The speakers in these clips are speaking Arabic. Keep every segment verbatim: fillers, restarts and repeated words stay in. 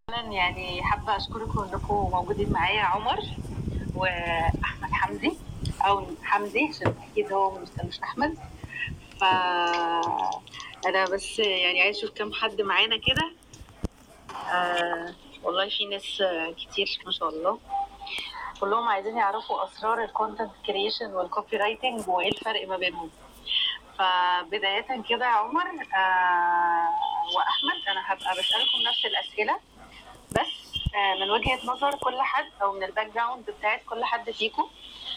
يعني حابة أشكركم إنكم موجودين معايا عمر وأحمد حمدي أو حمدي عشان أكيد هو مش مش أحمد. فأنا بس يعني عايز أشوف كم حد معانا كده. آه والله في ناس كتير ما شاء الله، كلهم عايزين يعرفوا أسرار الكونتنت كرييشن والكوبي رايتنج وإيه الفرق ما بينهم. فبداية كده يا عمر آه وأحمد، أنا هبقى بسألكم نفس الأسئلة بس آه من وجهة نظر كل حد أو من الباك جراوند بتاعت كل حد فيكم.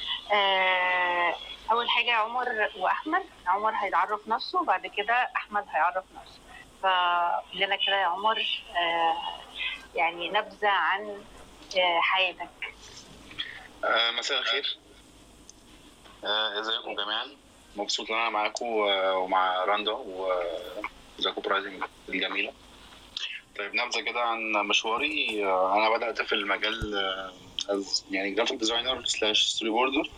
آه أول حاجة عمر وأحمد، عمر هيعرف نفسه وبعد كده أحمد هيعرف نفسه. فلنا كده يا عمر آه يعني نبذة عن آه حياتك. آه مساء الخير، آه ازيكم جميعا؟ مبسوط ان انا معاكم ومع راندا وزاكو برايزنج الجميله. طيب نبذه كده عن مشواري. آه انا بدات في المجال آه يعني جرافيك ديزاينر سلاش ستوري بوردر،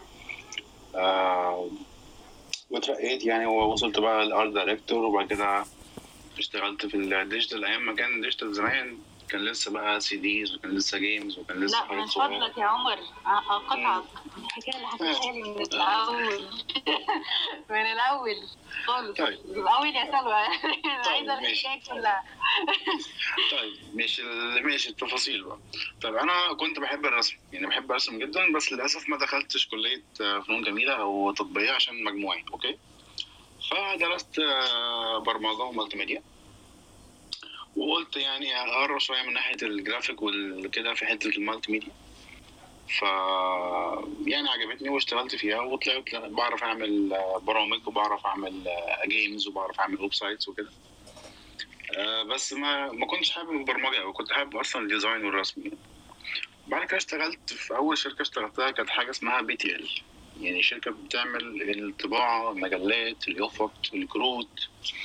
آه واترقيت يعني ووصلت بقى الارت دايركتور، وبعد كده اشتغلت في الديجيتال. ايام ما كان الديجيتال زمان كان لسه بقى سي ديز وكان لسه جيمز وكان لسه لا من فضلك يا عمر اقطعك، الحكايه اللي حكيتها لي من الاول من الاول خالص. طيب من الاول يا سلوى عايزه الحكايه كلها. طيب ماشي ماشي التفاصيل بقى. طيب انا كنت بحب الرسم، يعني بحب ارسم جدا، بس للاسف ما دخلتش كليه فنون جميله او تطبيقيه عشان مجموعي. اوكي، فدرست برمجه ومالتي ميديا، وقلت يعني اقرب شويه من ناحيه الجرافيك والكده في حته المالتي ميديا. ف يعني عجبتني واشتغلت فيها وطلعت بعرف اعمل برامج وبعرف اعمل جيمز وبعرف اعمل ويب سايتس وكده. أه بس ما ما كنتش حابب البرمجه، او كنت حابب اصلا الديزاين والرسم يعني. بعد كده اشتغلت في اول شركه اشتغلتها كانت حاجه اسمها بي تي ال، يعني شركه بتعمل الطباعه، المجلات، اليافط، الكروت.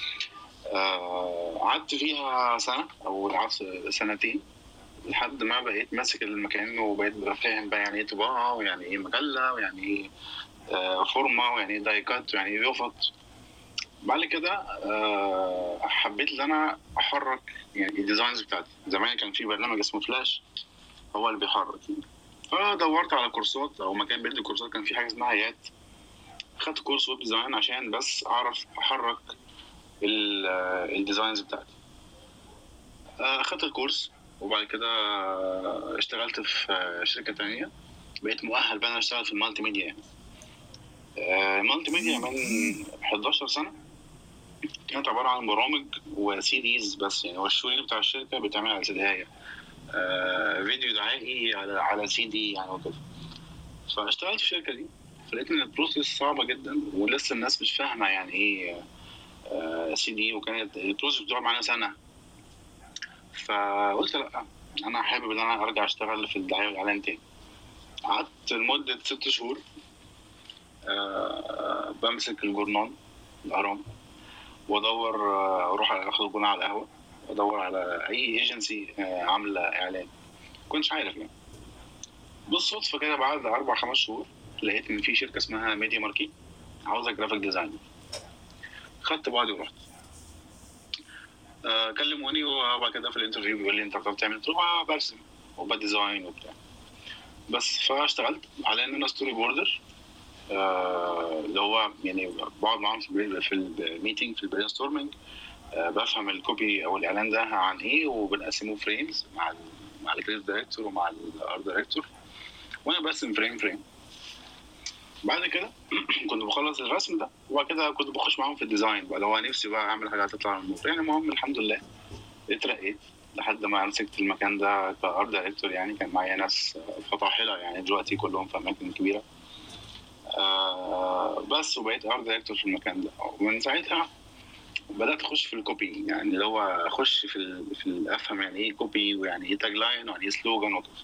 قعدت أه فيها سنه او سنتين لحد ما بقيت ماسك المكان وبقيت فاهم بقى يعني ايه طباعه ويعني ايه مجله ويعني ايه أه فورمه ويعني ايه دايكات ويعني ايه يافط. بعد كده أه حبيت ان انا احرك يعني الديزاينز بتاعتي. زمان كان في برنامج اسمه فلاش هو اللي بيحرك يعني. فدورت على كورسات او مكان بيدي كورسات، كان في حاجه اسمها يات. خدت كورس ويب ديزاين عشان بس اعرف احرك الديزاينز بتاعتي. اخدت الكورس وبعد كده اشتغلت في شركه تانية، بقيت مؤهل بقى انا اشتغل في المالتي ميديا يعني. المالتي ميديا من حداشر سنه كانت عباره عن برامج وسي ديز بس يعني، والشغل بتاع الشركه بتعمل على سيديهايه آه فيديو دعائي على على سي دي يعني وكده. فاشتغلت في الشركه دي، فلقيت ان البروسيس صعبه جدا ولسه الناس مش فاهمه يعني ايه آه سي دي، وكانت البروسيس بتقعد معانا سنه. فقلت لا، انا حابب ان انا ارجع اشتغل في الدعايه والاعلان تاني. قعدت لمده ست شهور آه بمسك الجورنال الاهرام وادور، آه اروح اخد الجورنال على القهوه وادور على اي ايجنسي آه عامله اعلان. كنتش عارف يعني. بالصدفه كده بعد اربع خمس شهور لقيت ان في شركه اسمها ميديا ماركي عاوزه جرافيك ديزاينر. خدت بعضي ورحت. آه كلموني وبعد كده في الانترفيو بيقول لي انت بتعرف تعمل؟ قلت له برسم وبديزاين وبتاع بس. فاشتغلت على ان انا ستوري بوردر، آه اللي هو يعني بقعد معاهم في في الميتنج في البرين ستورمنج، آه بفهم الكوبي او الاعلان ده عن ايه وبنقسمه فريمز مع ال مع الكريتيف دايركتور ومع الارت دايركتور، وانا برسم فريم فريم. بعد كده كنت بخلص الرسم ده وبعد كده كنت بخش معاهم في الديزاين بقى، لو نفسي بقى اعمل حاجه هتطلع من النور يعني. المهم الحمد لله اترقيت لحد ما مسكت المكان ده كارت دايركتور. يعني كان معايا ناس فطاحله يعني دلوقتي كلهم في اماكن كبيره. آه بس وبقيت ارت دايركتور في المكان ده. ومن ساعتها بدات اخش في الكوبي، يعني اللي هو اخش في ال في ال افهم يعني ايه كوبي ويعني ايه تاج لاين ويعني ايه سلوجان وكده.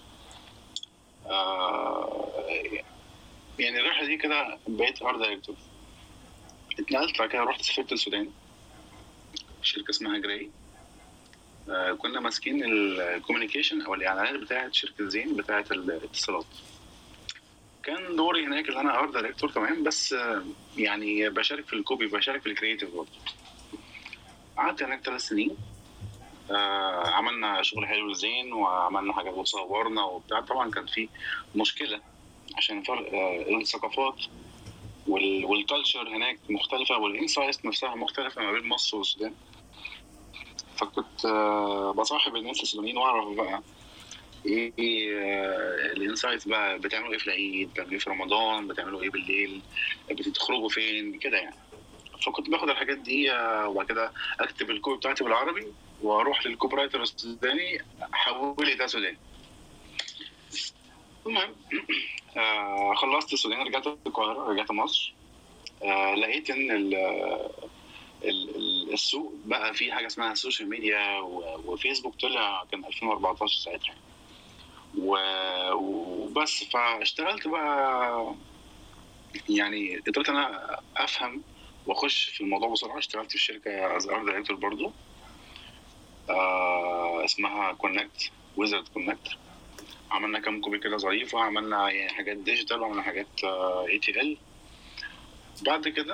آه يعني الرحله دي كده بقيت ارت دايركتور. اتنقلت بعد كده رحت سافرت السودان، شركه اسمها جراي. آه كنا ماسكين الكوميونيكيشن او الاعلانات بتاعه شركه زين بتاعه الاتصالات. كان دوري هناك اللي انا ارت دايركتور تمام، بس آه يعني بشارك في الكوبي، بشارك في الكرييتيف برضه. قعدت هناك ثلاث سنين. آه عملنا شغل حلو زين وعملنا حاجات وصورنا وبتاع. طبعا كان في مشكله عشان فرق آه الثقافات والكالتشر هناك مختلفه والانسايت نفسها مختلفه ما بين مصر والسودان. فكنت آه بصاحب الناس السودانيين واعرف بقى ايه آه الانسايت بقى، بتعملوا ايه في العيد، بتعملوا ايه في رمضان، بتعملوا ايه بالليل، بتخرجوا فين كده يعني. فكنت باخد الحاجات دي آه وبعد كده اكتب الكود بتاعتي بالعربي واروح للكوبي رايتر السوداني حول لي ده سوداني. المهم آه خلصت السودان، رجعت القاهره، رجعت مصر. آه لقيت ان ال ال السوق بقى فيه حاجه اسمها السوشيال ميديا، وفيسبوك طلع كان ألفين وأربعتاشر ساعتها وبس. فاشتغلت بقى يعني، قدرت انا افهم واخش في الموضوع بسرعه. اشتغلت في شركه از ارت دايركتور برضو آه اسمها كونكت، ويزرد كونكت. عملنا كام كوبي كده ظريفه، عملنا يعني حاجات ديجيتال وعملنا حاجات اي تي ال. بعد كده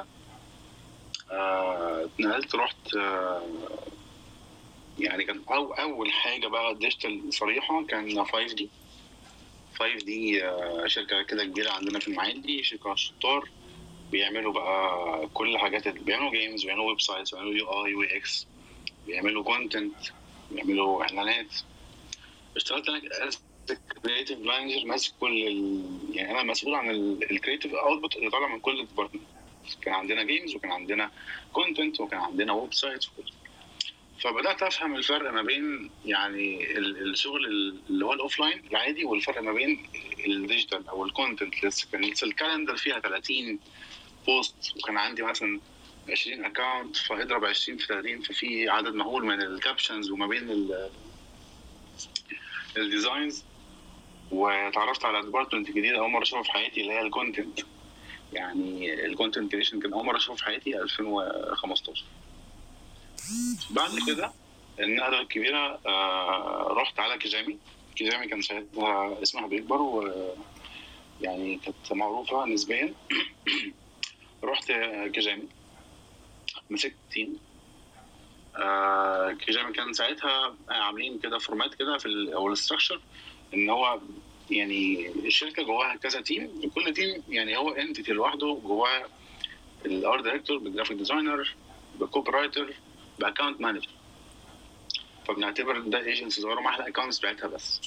اتنقلت آه رحت آه يعني كان أو اول حاجه بقى ديجيتال صريحه كان فايف دي. فايف دي آه شركه كده كبيره عندنا في المعادي، شركه شطار، بيعملوا بقى كل حاجات، بيعملوا جيمز، بيعملوا ويب سايتس، بيعملوا يو اي وي اكس، بيعملوا كونتنت، بيعملوا اعلانات. اشتغلت انا كريتيف مانجر، ماسك كل ال... يعني انا مسؤول عن الكريتيف اوتبوت اللي طالع من كل ديبارتمنت. كان عندنا جيمز وكان عندنا كونتنت وكان عندنا ويب سايتس وكل. فبدات افهم الفرق ما بين يعني الشغل اللي هو الاوفلاين العادي والفرق ما بين الديجيتال او الكونتنت. كانت الكالندر فيها ثلاثين بوست وكان عندي مثلا عشرين اكونت، فاضرب عشرين في ثلاثين، ففي عدد مهول من الكابشنز وما بين الديزاينز. وتعرفت على ديبارتمنت جديد اول مره اشوفه في حياتي اللي هي الكونتنت. يعني الكونتنت كريشن كان اول مره اشوفه في حياتي ألفين وخمستاشر. بعد كده النقله الكبيره آه رحت على كيجامي. كيجامي كان ساعتها اسمها بيكبر ويعني كانت معروفه نسبيا. رحت كيجامي مسكت تيم. آه كيجامي كان ساعتها عاملين كده فورمات كده في او الاستراكشر ان هو يعني الشركه جواها كذا تيم، وكل تيم يعني هو انتيتي لوحده، جواه الارت دايركتور، بالجرافيك ديزاينر، بالكوبي رايتر، باكونت مانجر. فبنعتبر ده ايجنسي صغيره مع الاكونتس بتاعتها بس.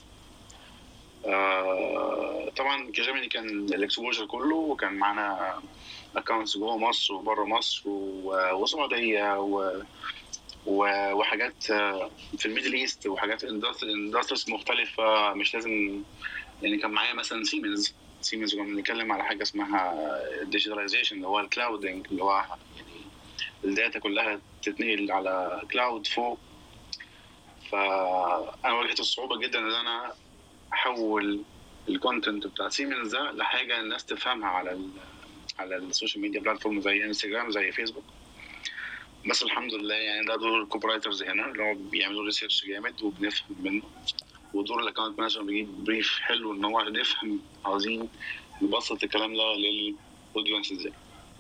آه طبعا كيجامي كان الاكسبوجر كله، وكان معانا اكونتس جوه مصر وبره مصر والسعوديه و وحاجات في الميدل ايست وحاجات اندستريز مختلفه. مش لازم يعني، كان معايا مثلا سيمنز سيمنز كنا بنتكلم على حاجه اسمها ديجيتاليزيشن اللي هو الكلاودنج، اللي هو يعني الداتا كلها تتنقل على كلاود فوق. فانا واجهت الصعوبه جدا ان انا احول الكونتنت بتاع سيمنز ده لحاجه الناس تفهمها على ال على السوشيال ميديا بلاتفورم زي انستجرام زي فيسبوك. بس الحمد لله يعني ده دور الكوبي رايترز هنا اللي هو بيعملوا ريسيرش جامد وبنفهم منه، ودور الاكونت مانجر بيجيب بريف حلو ان هو نفهم عاوزين نبسط الكلام ده للاودينس ازاي.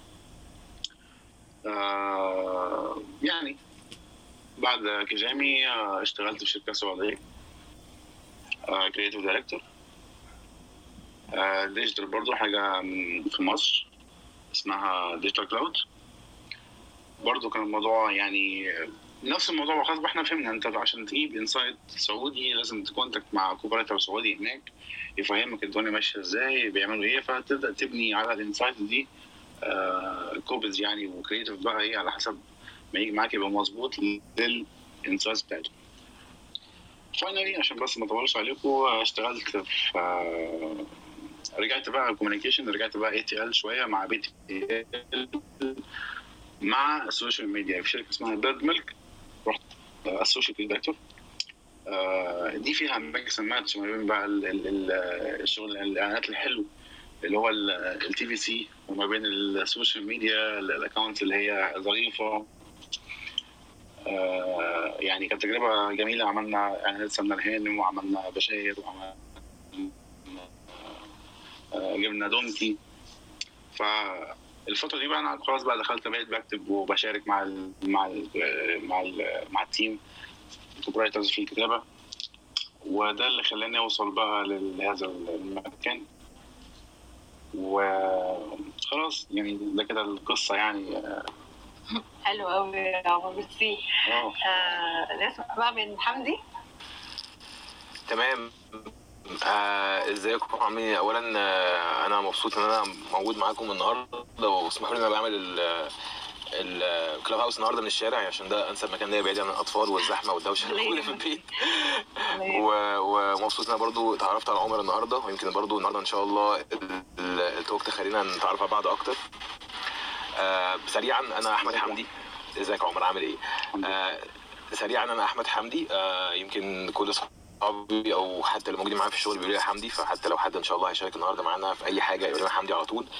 آه يعني بعد كيجامي آه اشتغلت في شركه سعوديه كرييتيف دايركتور ديجيتال برضو، حاجه في مصر اسمها ديجيتال كلاود. برضو كان الموضوع يعني نفس الموضوع، وخلاص احنا فهمنا انت عشان تجيب انسايت سعودي لازم تكونتاكت مع كوبريتور سعودي هناك يفهمك الدنيا ماشيه ازاي، بيعملوا ايه، فتبدا تبني على الانسايت دي آه كوبز يعني وكريتيف بقى ايه على حسب ما يجي معاك يبقى مظبوط للانسايت بتاعته. فاينلي عشان بس ما اطولش عليكم اشتغلت في آه رجعت بقى كوميونيكيشن، رجعت بقى اي تي ال شويه مع بي تي ال مع السوشيال ميديا في شركه اسمها بيرد ميلك. رحت اسوشيال دايركتور. دي فيها ميكس اند ماتش ما بين بقى الشغل الاعلانات الحلو اللي هو التي في سي وما بين السوشيال ميديا الاكونت اللي هي ظريفه. يعني كانت تجربه جميله. عملنا اعلانات سمنه الهانم وعملنا بشاير وعملنا جبنا دونكي. فالفتره دي بقى انا خلاص بقى دخلت بقيت بكتب وبشارك مع ال مع ال مع ال مع التيم كوبي رايترز في الكتابه، وده اللي خلاني اوصل بقى لهذا المكان. وخلاص يعني ده كده القصه يعني. حلو قوي يا عمر، ميرسي. اه آه نسمع بقى من حمدي. تمام. آه، ازيكم عاملين ايه؟ اولا آه، انا مبسوط ان انا موجود معاكم النهارده، واسمحوا لي ان انا بعمل الكلاب هاوس النهارده من الشارع عشان ده انسب مكان ليا بعيد عن الاطفال والزحمه والدوشه اللي موجوده في البيت. و- ومبسوط ان انا برضو اتعرفت على عمر النهارده، ويمكن برضو النهارده ان شاء الله ال- ال- التوك تخلينا نتعرف على بعض اكتر. آه، سريعا انا احمد حمدي. ازيك يا عمر، عامل ايه؟ آه، سريعا انا احمد حمدي. آه، يمكن كل اصحابي او حتى اللي موجودين معايا في الشغل بيقولوا لي حمدي، فحتى لو حد ان شاء الله هيشارك النهارده معانا في اي حاجه يقول لنا حمدي على طول.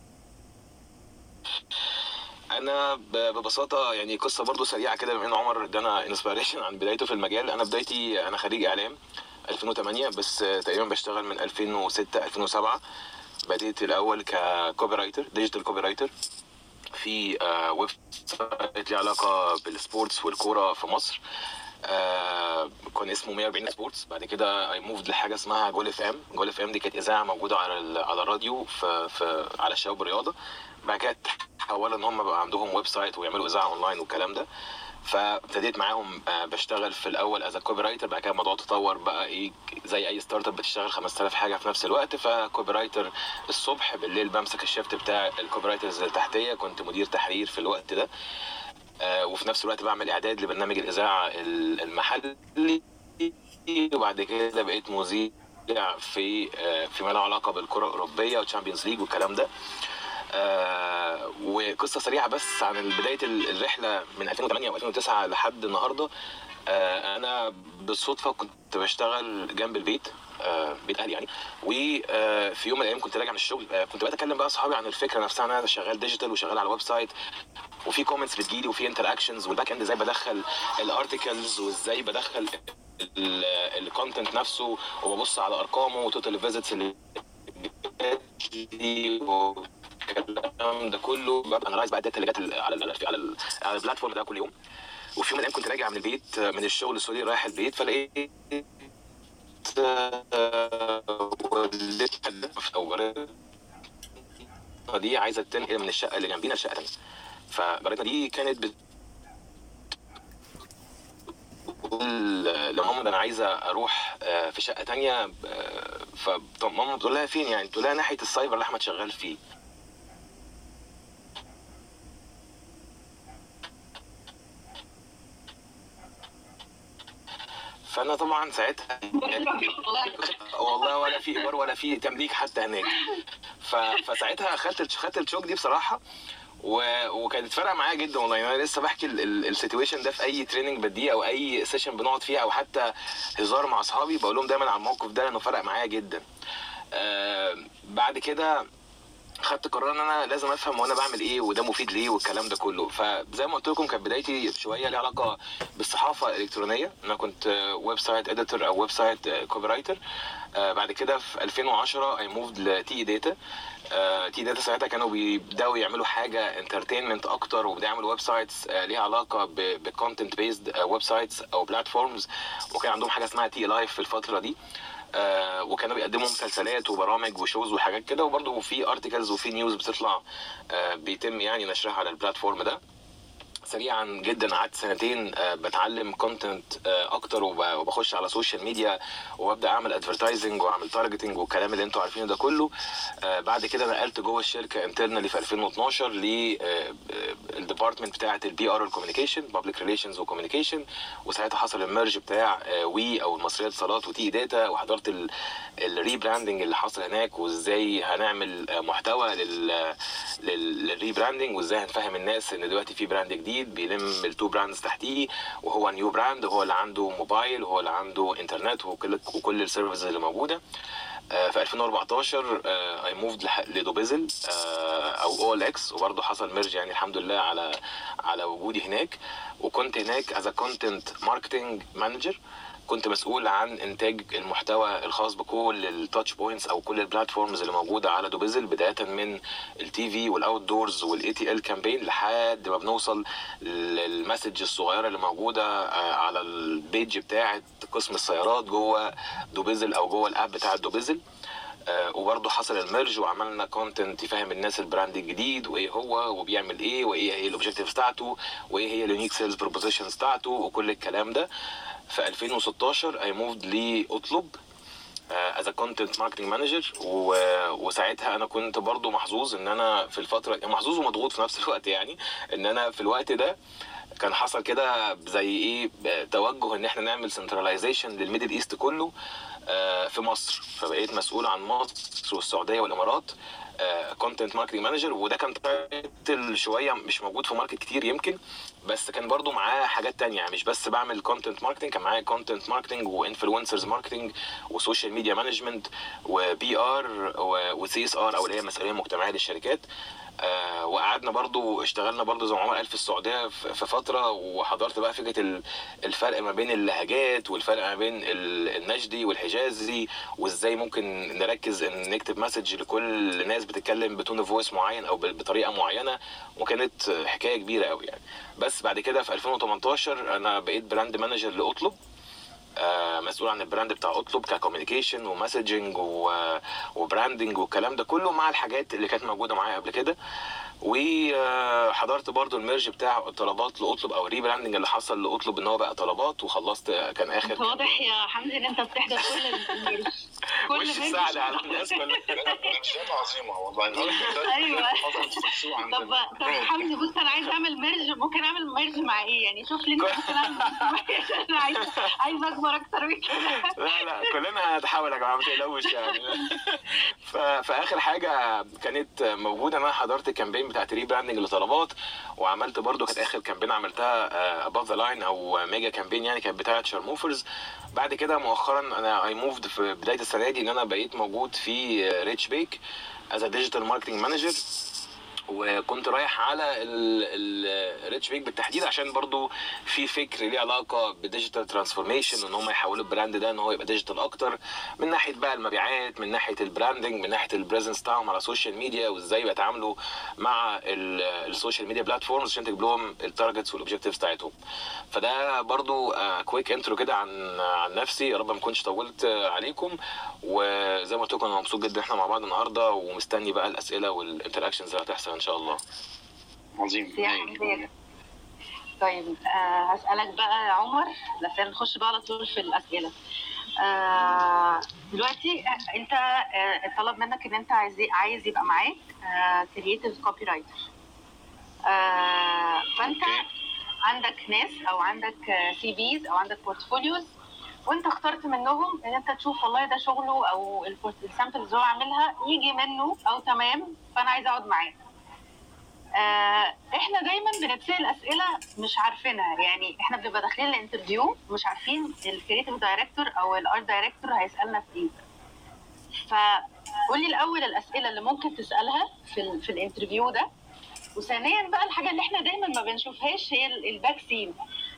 انا ب- ببساطه يعني قصه برضو سريعه كده، بما ان عمر ادانا انسبيريشن عن بدايته في المجال. انا بدايتي انا خريج اعلام ألفين وثمانية، بس آه، تقريبا بشتغل من ألفين وستة ألفين وسبعة. بديت الاول ككوبي رايتر، ديجيتال كوبي رايتر في آه، ويب سايت ليه علاقه بالسبورتس والكوره في مصر. آه كان اسمه مية وأربعين سبورتس. بعد كده اي موفد لحاجه اسمها جول اف ام. جول اف ام دي كانت اذاعه موجوده على ال- على الراديو في, في على الشباب والرياضه. بعد كده تحولوا ان هم بقى عندهم ويب سايت ويعملوا اذاعه اونلاين والكلام ده. فابتديت معاهم آه، بشتغل في الاول از كوبي رايتر. بعد كده الموضوع تطور بقى ايه، زي اي ستارت اب بتشتغل خمسة آلاف حاجه في نفس الوقت. فكوبي رايتر الصبح، بالليل بمسك الشيفت بتاع الكوبي رايترز اللي تحتيه. كنت مدير تحرير في الوقت ده. آه، وفي نفس الوقت بعمل اعداد لبرنامج الاذاعه ال- المحلي. وبعد كده بقيت مذيع في آه، فيما له علاقه بالكره الاوروبيه والتشامبيونز ليج والكلام ده. آه، وقصه سريعه بس عن بدايه ال- الرحله من ألفين وثمانية و ألفين وتسعة لحد النهارده. آه، انا بالصدفه كنت بشتغل جنب البيت، آه، بيت اهلي يعني. وفي يوم من الايام كنت راجع من الشغل، آه، كنت بتكلم بقى اصحابي عن الفكره نفسها. انا شغال ديجيتال وشغال على ويب سايت، وفي كومنتس بتجيلي وفي انتر اكشنز، والباك اند ازاي بدخل الارتكلز وازاي بدخل الكونتنت نفسه، وببص على ارقامه وتوتال فيزيتس اللي جاتلي والكلام ده كله. ببقى انالايز بقى الداتا اللي جت على ال على ال على البلاتفورم ده كل يوم. وفي يوم من الايام كنت راجع من البيت من الشغل سوري رايح البيت، فلقيت والدتي او دي عايزه تنقل من الشقه اللي جنبينا لشقه ثانيه. فجارتنا دي كانت بتقول لماما ده انا عايزه اروح آه، في شقه تانية. آه، فماما بتقول لها فين يعني؟ تقول لها ناحيه السايبر اللي احمد شغال فيه. فانا طبعا ساعتها والله ولا في ايجار ولا في تمليك حتى هناك. ف... فساعتها خدت خدت الشوك دي بصراحه، و... وكانت فارقه معايا جدا والله. يعني انا لسه بحكي السيتويشن ده في اي تريننج بديه او اي سيشن بنقعد فيها او حتى هزار مع اصحابي، بقول لهم دايما على الموقف ده لانه فرق معايا جدا. آه بعد كده خدت قرار ان انا لازم افهم وانا بعمل ايه وده مفيد ليه والكلام ده كله. فزي ما قلت لكم كانت بدايتي شويه ليها علاقه بالصحافه الالكترونيه. انا كنت ويب سايت اديتور او ويب سايت كوبي رايتر. بعد كده في ألفين وعشرة اي موفد لتي داتا. تي داتا ساعتها كانوا بيبداوا يعملوا حاجه انترتينمنت اكتر، وبداوا يعملوا ويب سايتس ليها علاقه بكونتنت بيزد ويب سايتس او بلاتفورمز. وكان عندهم حاجه اسمها تي لايف في الفتره دي. آه وكانوا بيقدموا مسلسلات وبرامج وشوز وحاجات كده، وبرضه في ارتكلز وفي نيوز بتطلع آه بيتم يعني نشرها على البلاتفورم ده. سريعا جدا قعدت سنتين آه بتعلم كونتنت آه اكتر، وبخش على سوشيال ميديا وابدا اعمل ادفرتايزنج واعمل تارجتنج والكلام اللي انتوا عارفينه ده كله. آه بعد كده نقلت جوه الشركه انترنالي في ألفين واثناشر للديبارتمنت بتاعه البي ار والكوميونيكيشن، بابليك ريليشنز وكوميونيكيشن. وساعتها حصل الميرج بتاع آه وي او المصريه للاتصالات وتي داتا، وحضرت الريبراندنج اللي حصل هناك، وازاي هنعمل محتوى لل للريبراندنج، وازاي هنفهم الناس ان دلوقتي في براند جديد بيلم التو براندز تحتيه، وهو نيو براند، وهو اللي عنده موبايل وهو اللي عنده انترنت وكل وكل السيرفيسز اللي موجوده. في ألفين وأربعتاشر اي موفد لدوبيزل او او ال اكس، وبرضه حصل ميرج يعني الحمد لله على على وجودي هناك. وكنت هناك از كونتنت ماركتنج مانجر. كنت مسؤول عن انتاج المحتوى الخاص بكل التاتش بوينتس او كل البلاتفورمز اللي موجوده على دوبيزل، بدايه من التي في والاوت دورز والاي تي ال كامبين لحد ما بنوصل للمسج الصغيره اللي موجوده على البيج بتاعه قسم السيارات جوه دوبيزل او جوه الاب بتاع دوبيزل. آه وبرضه حصل الميرج وعملنا كونتنت يفهم الناس البراند الجديد وايه هو وبيعمل ايه وايه هي الاوبجكتيف بتاعته وايه هي اليونيك سيلز بروبوزيشنز بتاعته وكل الكلام ده. في ألفين وستاشر اي موفد لاطلب از كونتنت ماركتنج مانجر، وساعتها انا كنت برضو محظوظ ان انا في الفتره محظوظ ومضغوط في نفس الوقت، يعني ان انا في الوقت ده كان حصل كده زي ايه توجه ان احنا نعمل سنتراليزيشن للميدل ايست كله في مصر، فبقيت مسؤول عن مصر والسعوديه والامارات كونتنت ماركتنج مانجر. وده كان تايتل شويه مش موجود في ماركت كتير يمكن، بس كان برضو معاه حاجات تانية، يعني مش بس بعمل كونتنت ماركتنج، كان معايا كونتنت ماركتنج وانفلونسرز ماركتنج وسوشيال ميديا مانجمنت وبي ار وسي اس ار او اللي هي مسؤوليه مجتمعيه للشركات. آه وقعدنا برضو اشتغلنا برضو زي ما عمر قال في السعوديه في فتره، وحضرت بقى فكره الفرق ما بين اللهجات والفرق ما بين النجدي والحجازي، وازاي ممكن نركز ان نكتب مسج لكل ناس بتتكلم بتون فويس معين او بطريقه معينه، وكانت حكايه كبيره قوي يعني. بس بعد كده في ألفين وتمنتاشر انا بقيت براند مانجر لاطلب، آه مسؤول عن البراند بتاع اطلب ككوميونيكيشن ومسجنج وبراندنج والكلام ده كله مع الحاجات اللي كانت موجوده معايا قبل كده. وحضرت برضو الميرج بتاع طلبات لاطلب او ريبراندنج اللي حصل لاطلب ان هو بقى طلبات، وخلصت كان اخر. واضح يا حمدي ان انت بتحضر كل الميرج كل مش ساعد على الناس كلها. مشكلة عظيمه والله. ايوه طب طب حمدي بص انا عايز اعمل ميرج، ممكن اعمل ميرج مع ايه يعني؟ شوف لي انت ممكن اعمل انا عايز عايز اكبر اكتر من كده. لا لا كلنا هنحاول يا جماعه ما تقلقوش يعني. فاخر حاجه كانت موجوده انا حضرت الكامبين بتاعت ريبراندنج لطلبات، وعملت برضو كانت اخر كامبين عملتها اباف ذا لاين او ميجا كامبين يعني، كانت بتاعه شارموفرز. بعد كده مؤخرا انا اي موفد في بدايه السنه دي ان انا بقيت موجود في ريتش بيك از ديجيتال ماركتنج مانجر، وكنت رايح على الريتش بيك بالتحديد عشان برضو في فكر ليه علاقه بالديجيتال ترانسفورميشن، ان هم يحولوا البراند ده ان هو يبقى ديجيتال اكتر، من ناحيه بقى المبيعات، من ناحيه البراندنج، من ناحيه البريزنس بتاعهم على السوشيال ميديا، وازاي بيتعاملوا مع السوشيال ميديا بلاتفورمز عشان تجيب لهم التارجتس والاوبجكتيفز بتاعتهم. فده برضو كويك انترو كده عن عن نفسي، يا رب ما كنتش طولت عليكم. وزي ما قلت لكم انا مبسوط جدا احنا مع بعض النهارده، ومستني بقى الاسئله والانتراكشنز اللي هتحصل ان شاء الله. عظيم. طيب آه هسألك بقى يا عمر عشان نخش بقى على طول في الأسئلة. آه دلوقتي انت آه طلب منك ان انت عايز عايز يبقى معاك كرييتيف كوبي رايتر، فانت عندك ناس او عندك سي فيز او عندك بورتفوليوز، وانت اخترت منهم ان انت تشوف والله ده شغله او السامبلز اللي هو عاملها يجي منه او تمام، فانا عايز اقعد معاه. آه احنا دايما بنتسال اسئله مش عارفينها، يعني احنا بنبقى داخلين الانترفيو مش عارفين الكرييتيف دايركتور او الارت دايركتور هيسالنا في ايه. فقولي الاول الاسئله اللي ممكن تسالها في ال في الانترفيو ده، وثانيا بقى الحاجه اللي احنا دايما ما بنشوفهاش هي الباك سين.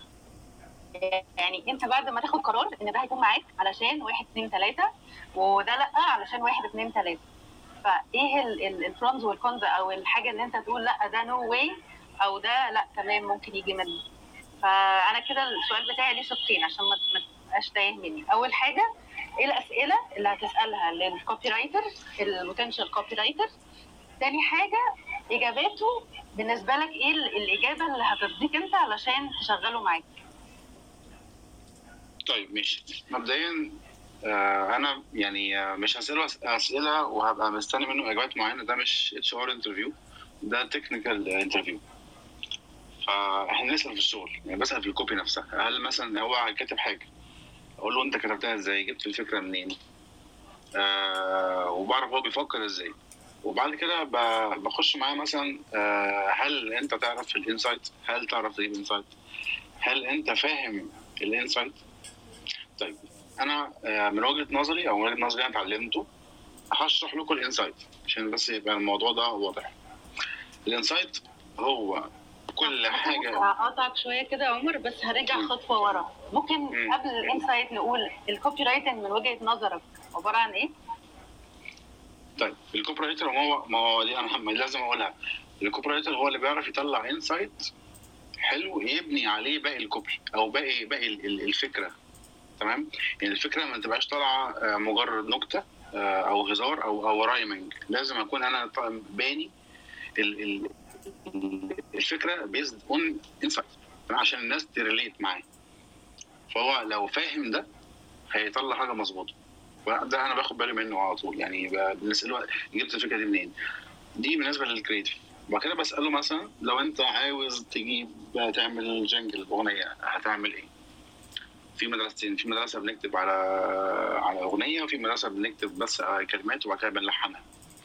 يعني انت بعد ما تاخد قرار ان ده هيكون معاك علشان واحد اتنين تلاته وده لا علشان واحد اتنين تلاته، فايه البرونز والكونز او الحاجه اللي انت تقول لا ده نو واي او ده لا تمام ممكن يجي منه. فانا كده السؤال بتاعي ليه شقين عشان ما تبقاش تايه مني. اول حاجه ايه الاسئله اللي هتسالها للكوبي رايتر البوتنشال كوبي رايتر، تاني حاجه اجاباته بالنسبه لك ايه الاجابه اللي هترضيك انت علشان تشغله معاك. طيب ماشي. مبدئيا آه انا يعني آه مش هسأله اسئله وهبقى مستني منه اجابات معينه، ده مش اتش ار انترفيو، ده تكنيكال انترفيو. فاحنا نسال في الشغل، يعني بسال في الكوبي نفسها، هل مثلا هو كاتب حاجه اقول له انت كتبتها ازاي، جبت الفكره منين، آه وبعرف هو بيفكر ازاي. وبعد كده بخش معاه مثلا آه هل انت تعرف الانسايت، هل تعرف تجيب انسايت، هل انت فاهم الانسايت. طيب انا من وجهه نظري او من وجهه نظري انا اتعلمته، هشرح لكم الانسايت عشان بس يبقى الموضوع ده واضح. الانسايت هو كل حاجه. هقطعك شويه كده يا عمر، بس هرجع خطوه ورا. ممكن مم. قبل الانسايت نقول الكوبي رايتنج من وجهه نظرك عباره عن ايه؟ طيب الكوبي رايتر هو ما هو دي انا لازم اقولها. الكوبي رايتر هو اللي بيعرف يطلع انسايت حلو يبني عليه باقي الكوبي او باقي باقي الفكره. تمام؟ يعني الفكره ما تبقاش طالعه مجرد نكته او هزار او او رايمنج. لازم اكون انا باني الفكره بيزد اون انسايت عشان الناس تريليت معاه. فهو لو فاهم ده هيطلع حاجه مظبوطه. ده انا باخد بالي منه على طول. يعني بنساله جبت الفكره دي منين. دي بالنسبه للكريتيف. وبعد كده بساله مثلا لو انت عاوز تجيب تعمل جنجل اغنيه هتعمل ايه؟ في مدرستين. في مدرسه بنكتب على على اغنيه، وفي مدرسه بنكتب بس كلمات وبعد كده بنلحنها.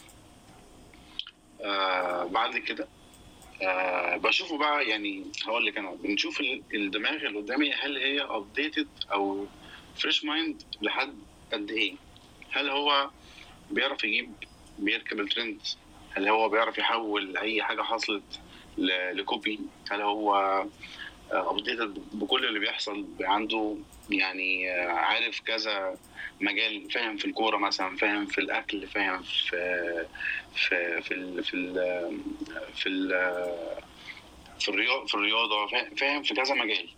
آه بعد كده آه بشوفه بقى. يعني هقول لك انا بنشوف الدماغ اللي قدامي هل هي ابديتد او فريش مايند لحد قد ايه. هل هو بيعرف يجيب بيركب الترند؟ هل هو بيعرف يحول اي حاجه حصلت لكوبي؟ هل هو ابديتد بكل اللي بيحصل عنده؟ يعني عارف كذا مجال، فاهم في الكوره مثلا، فاهم في الاكل، فاهم في في في ال في ال في ال في الرياضه في الرياضه فاهم في كذا مجال.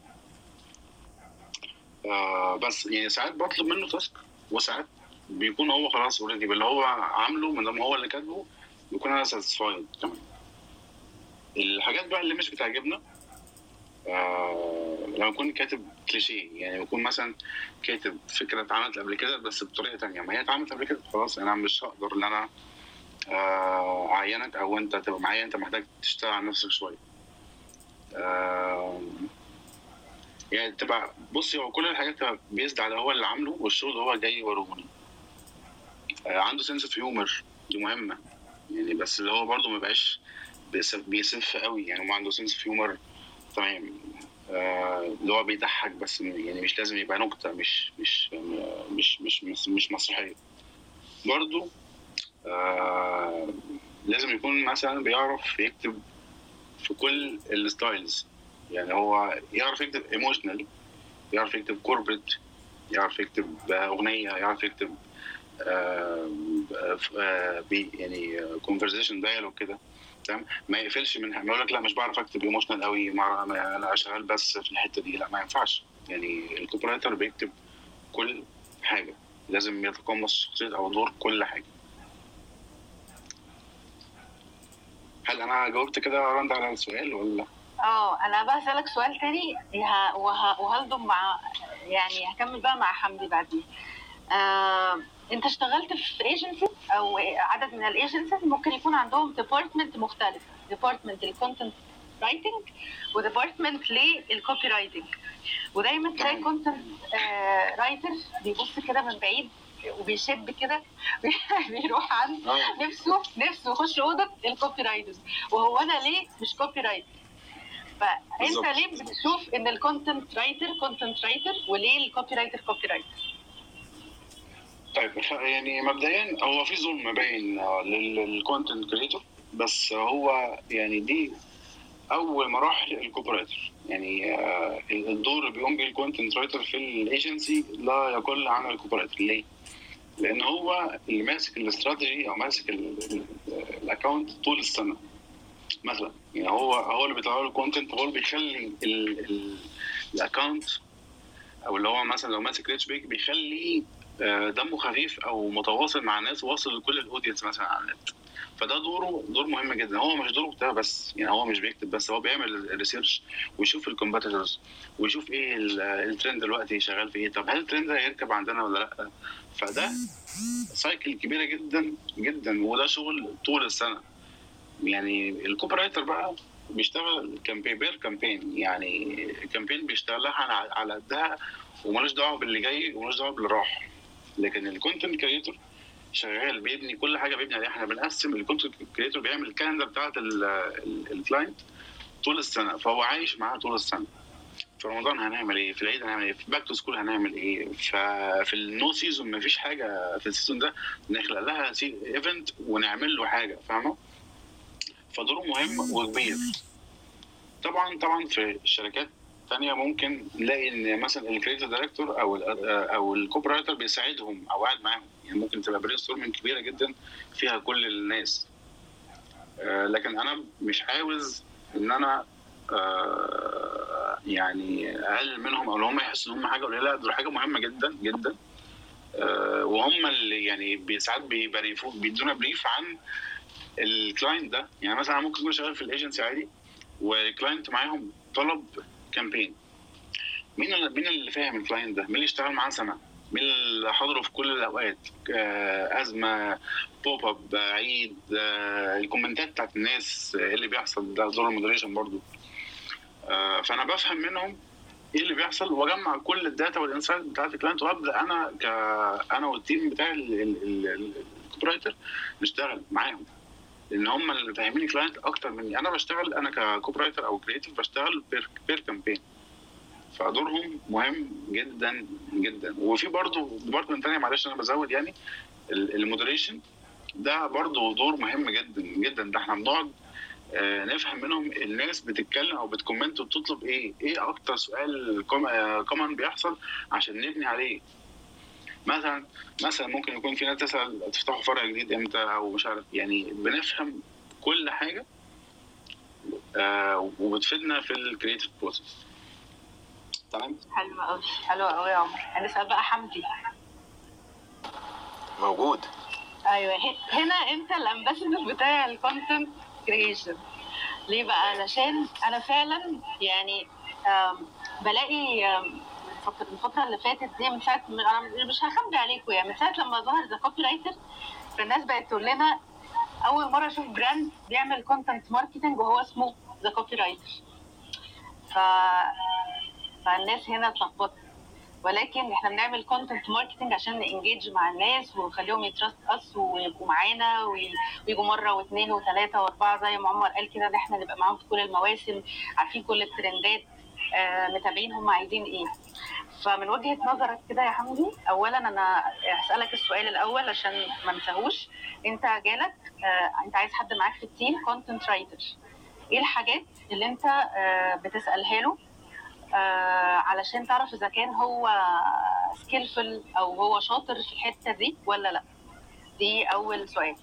آه بس يعني ساعات بطلب منه تاسك، وساعات بيكون هو خلاص اوريدي باللي هو عامله من ما هو اللي كاتبه بيكون انا ساتسفايد. تمام. الحاجات بقى اللي مش بتعجبنا آه لما يكون كاتب كليشيه، يعني يكون مثلا كاتب فكره اتعملت قبل كده بس بطريقه تانية. ما هي اتعملت قبل كده خلاص، انا مش هقدر ان انا آه اعينك او انت تبقى معايا. انت محتاج تشتغل على نفسك شويه. آه يعني تبقى بصي، هو كل الحاجات تبقى بيزد على هو اللي عامله والشغل هو جاي يوروني. آه عنده سنس اوف هيومر، دي مهمه يعني. بس اللي هو برضه ما بقاش بيسف قوي. يعني ما عنده سنس اوف هيومر تمام، آه اللي هو بيضحك بس. يعني مش لازم يبقى نكته، مش مش مش مش مش, مش مسرحيه. برضه آه لازم يكون مثلا بيعرف يكتب في كل الستايلز. يعني هو يعرف يكتب ايموشنال، يعرف يكتب كوربريت، يعرف يكتب اغنيه، يعرف يكتب آه آه يعني كونفرزيشن دايالوج كده. تمام. ما يقفلش منها، ما يقول لك لا مش بعرف اكتب ايموشنال قوي، انا شغال بس في الحته دي. لا ما ينفعش. يعني الكوبي رايتر بيكتب كل حاجه، لازم يتقمص شخصيه او دور كل حاجه. هل انا جاوبت كده رند على السؤال ولا؟ اه انا بقى هسألك سؤال تاني وهلضم مع، يعني هكمل بقى مع حمدي بعدين. آه، انت اشتغلت في ايجنسي او عدد من الايجنسيز ممكن يكون عندهم ديبارتمنت مختلف، ديبارتمنت الكونتنت رايتنج وديبارتمنت للكوبي رايتنج. ودايما تلاقي كونتنت رايتر بيبص كده من بعيد وبيشب كده بيروح عند نفسه نفسه يخش اوضه الكوبي رايتر، وهو انا ليه مش كوبي رايتر؟ فانت ليه بتشوف ان الكونتنت رايتر كونتنت رايتر وليه الكوبي رايتر كوبي رايتر؟ طيب يعني مبدئيا هو في ظلم باين للكونتنت كريتور، بس هو يعني دي اول مراحل الكوبي رايتر. يعني الدور اللي بيقوم بيه الكونتنت رايتر في الايجنسي لا يقل عن الكوبي رايتر. ليه؟ لان هو اللي ماسك الاستراتيجي او ماسك الاكونت طول السنه مثلا. يعني هو هو اللي بيطلع له الكونتنت، هو اللي بيخلي الاكونت، او اللي هو مثلا لو ماسك ريتش بيك بيخلي دمه خفيف او متواصل مع الناس، واصل لكل الاودينس مثلا على النت. فده دوره دور مهم جدا. هو مش دوره بتاعه بس، يعني هو مش بيكتب بس، هو بيعمل ريسيرش ويشوف الكومبيتيتورز ويشوف ايه الترند دلوقتي شغال في ايه. طب هل الترند ده هيركب عندنا ولا لا؟ فده سايكل كبيره جدا جدا، وده شغل طول السنه. يعني الكوبي رايتر بقى بيشتغل كامبين بير كامبين، يعني كامبين بيشتغلها على قدها ومالوش دعوه باللي جاي ومالوش دعوه باللي راح. لكن الكونتنت كريتور شغال بيبني كل حاجه بيبني عليها. احنا بنقسم الكونتنت كريتور بيعمل الكالندر بتاعت الكلاينت طول السنه، فهو عايش معاها طول السنه. في رمضان هنعمل ايه، في العيد هنعمل ايه، في باك تو سكول هنعمل ايه، ففي النو سيزون مفيش حاجه في السيزون ده نخلق لها ايفنت ونعمل له حاجه، فاهمه؟ فدوره مهم وكبير. طبعا طبعا في الشركات تانية ممكن نلاقي ان مثلا الكريتيف دايركتور او ال او الكوبي رايتر بيساعدهم او قاعد معاهم، يعني ممكن تبقى برين ستورمنج كبيره جدا فيها كل الناس. آه لكن انا مش عاوز ان انا آه يعني اقلل منهم او ان هم يحسوا ان هم حاجه قليله. لا، دول حاجه مهمه جدا جدا. آه وهم اللي يعني ساعات بيبريفوا بيدونا بريف عن الكلاينت ده. يعني مثلا انا ممكن اكون شغال في الايجنسي عادي والكلاينت معاهم طلب كامبين، مين اللي مين اللي فاهم الكلاينت ده؟ مين اللي اشتغل معاه سنه؟ مين اللي حضره في كل الاوقات؟ آه ازمه، بوب اب، عيد، آه الكومنتات بتاعت الناس، ايه اللي بيحصل؟ ده دور المودريشن برضو. آه فانا بفهم منهم ايه اللي بيحصل واجمع كل الداتا والانسايت بتاعت الكلاينت، وابدا انا ك انا والتيم بتاعي الكوبي رايتر نشتغل معاهم، لان هم اللي فاهمين الكلاينت اكتر مني. انا بشتغل انا ككوبي رايتر او كريتيف بشتغل بير بير كامبين، فدورهم مهم جدا جدا. وفي برضه ديبارتمنت ثانيه، معلش انا بزود، يعني المودريشن ده برضه دور مهم جدا جدا. ده احنا بنقعد آه نفهم منهم الناس بتتكلم او بتكومنت وبتطلب ايه، ايه اكتر سؤال كومن بيحصل عشان نبني عليه. مثلا مثلا ممكن يكون في ناس تسال تفتحوا فرع جديد امتى او مش عارف، يعني بنفهم كل حاجه آه وبتفيدنا في الكريتيف بروسيس. تمام. حلو قوي، حلو قوي يا عمر. هنسال بقى حمدي. موجود. ايوه، هنا انت الامباسادور بتاع الكونتنت كريشن. ليه بقى؟ علشان انا فعلا يعني بلاقي الفتره اللي فاتت دي من ساعه، انا مش هخبي عليكم، يعني من ساعه لما ظهر ذا كوبي رايتر فالناس بقت تقول لنا اول مره اشوف براند بيعمل كونتنت ماركتنج وهو اسمه ذا كوبي رايتر. ف فالناس هنا اتلخبطت، ولكن احنا بنعمل كونتنت ماركتنج عشان نانجيج مع الناس ونخليهم يتراست اس ويبقوا معانا ويجوا مره واثنين وثلاثه واربعه زي ما عمر قال كده، ان احنا نبقى معاهم في كل المواسم، عارفين كل الترندات، آه، متابعين هم عايزين ايه. فمن وجهه نظرك كده يا حمدي، اولا انا هسالك السؤال الاول عشان ما نساهوش. انت جالك آه، انت عايز حد معاك في التيم كونتنت رايتر، ايه الحاجات اللي انت آه، بتسالها له آه علشان تعرف اذا كان هو سكيلفل او هو شاطر في الحته دي ولا لا؟ دي اول سؤال.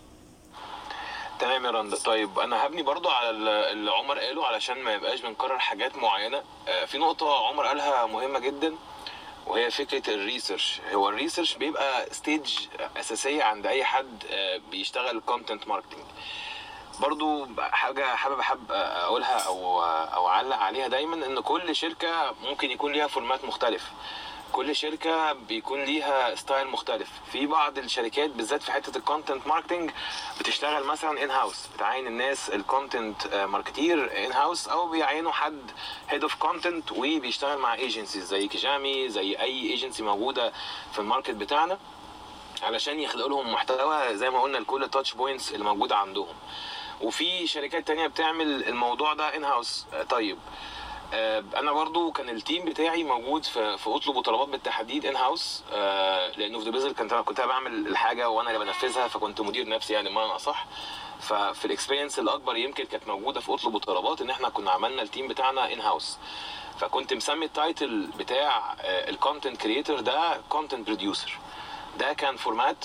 تمام يا رندا. طيب انا هبني برضو على اللي عمر قاله علشان ما يبقاش بنكرر حاجات معينه. في نقطه عمر قالها مهمه جدا وهي فكره الريسيرش. هو الريسيرش بيبقى ستيج اساسيه عند اي حد بيشتغل كونتنت ماركتنج. برضو حاجه حابب احب اقولها او او اعلق عليها دايما، ان كل شركه ممكن يكون ليها فورمات مختلف، كل شركه بيكون ليها ستايل مختلف. في بعض الشركات بالذات في حته الكونتنت ماركتنج بتشتغل مثلا ان هاوس، بتعين الناس الكونتنت ماركتير ان هاوس، او بيعينوا حد هيد اوف كونتنت وبيشتغل مع ايجنسيز زي كيجامي، زي اي ايجنسي موجوده في الماركت بتاعنا، علشان يخلقوا لهم محتوى زي ما قلنا لكل التاتش بوينتس اللي موجوده عندهم. وفي شركات تانية بتعمل الموضوع ده ان هاوس. طيب انا برضو كان التيم بتاعي موجود في في اطلب وطلبات بالتحديد ان هاوس، لانه في ديبيزل كنت كنت بعمل الحاجه وانا اللي بنفذها، فكنت مدير نفسي يعني بمعنى اصح. ففي الاكسبيرينس الاكبر يمكن كانت موجوده في اطلب وطلبات ان احنا كنا عملنا التيم بتاعنا ان هاوس. فكنت مسمي التايتل بتاع الكونتنت كريتور ده كونتنت بروديوسر. ده كان فورمات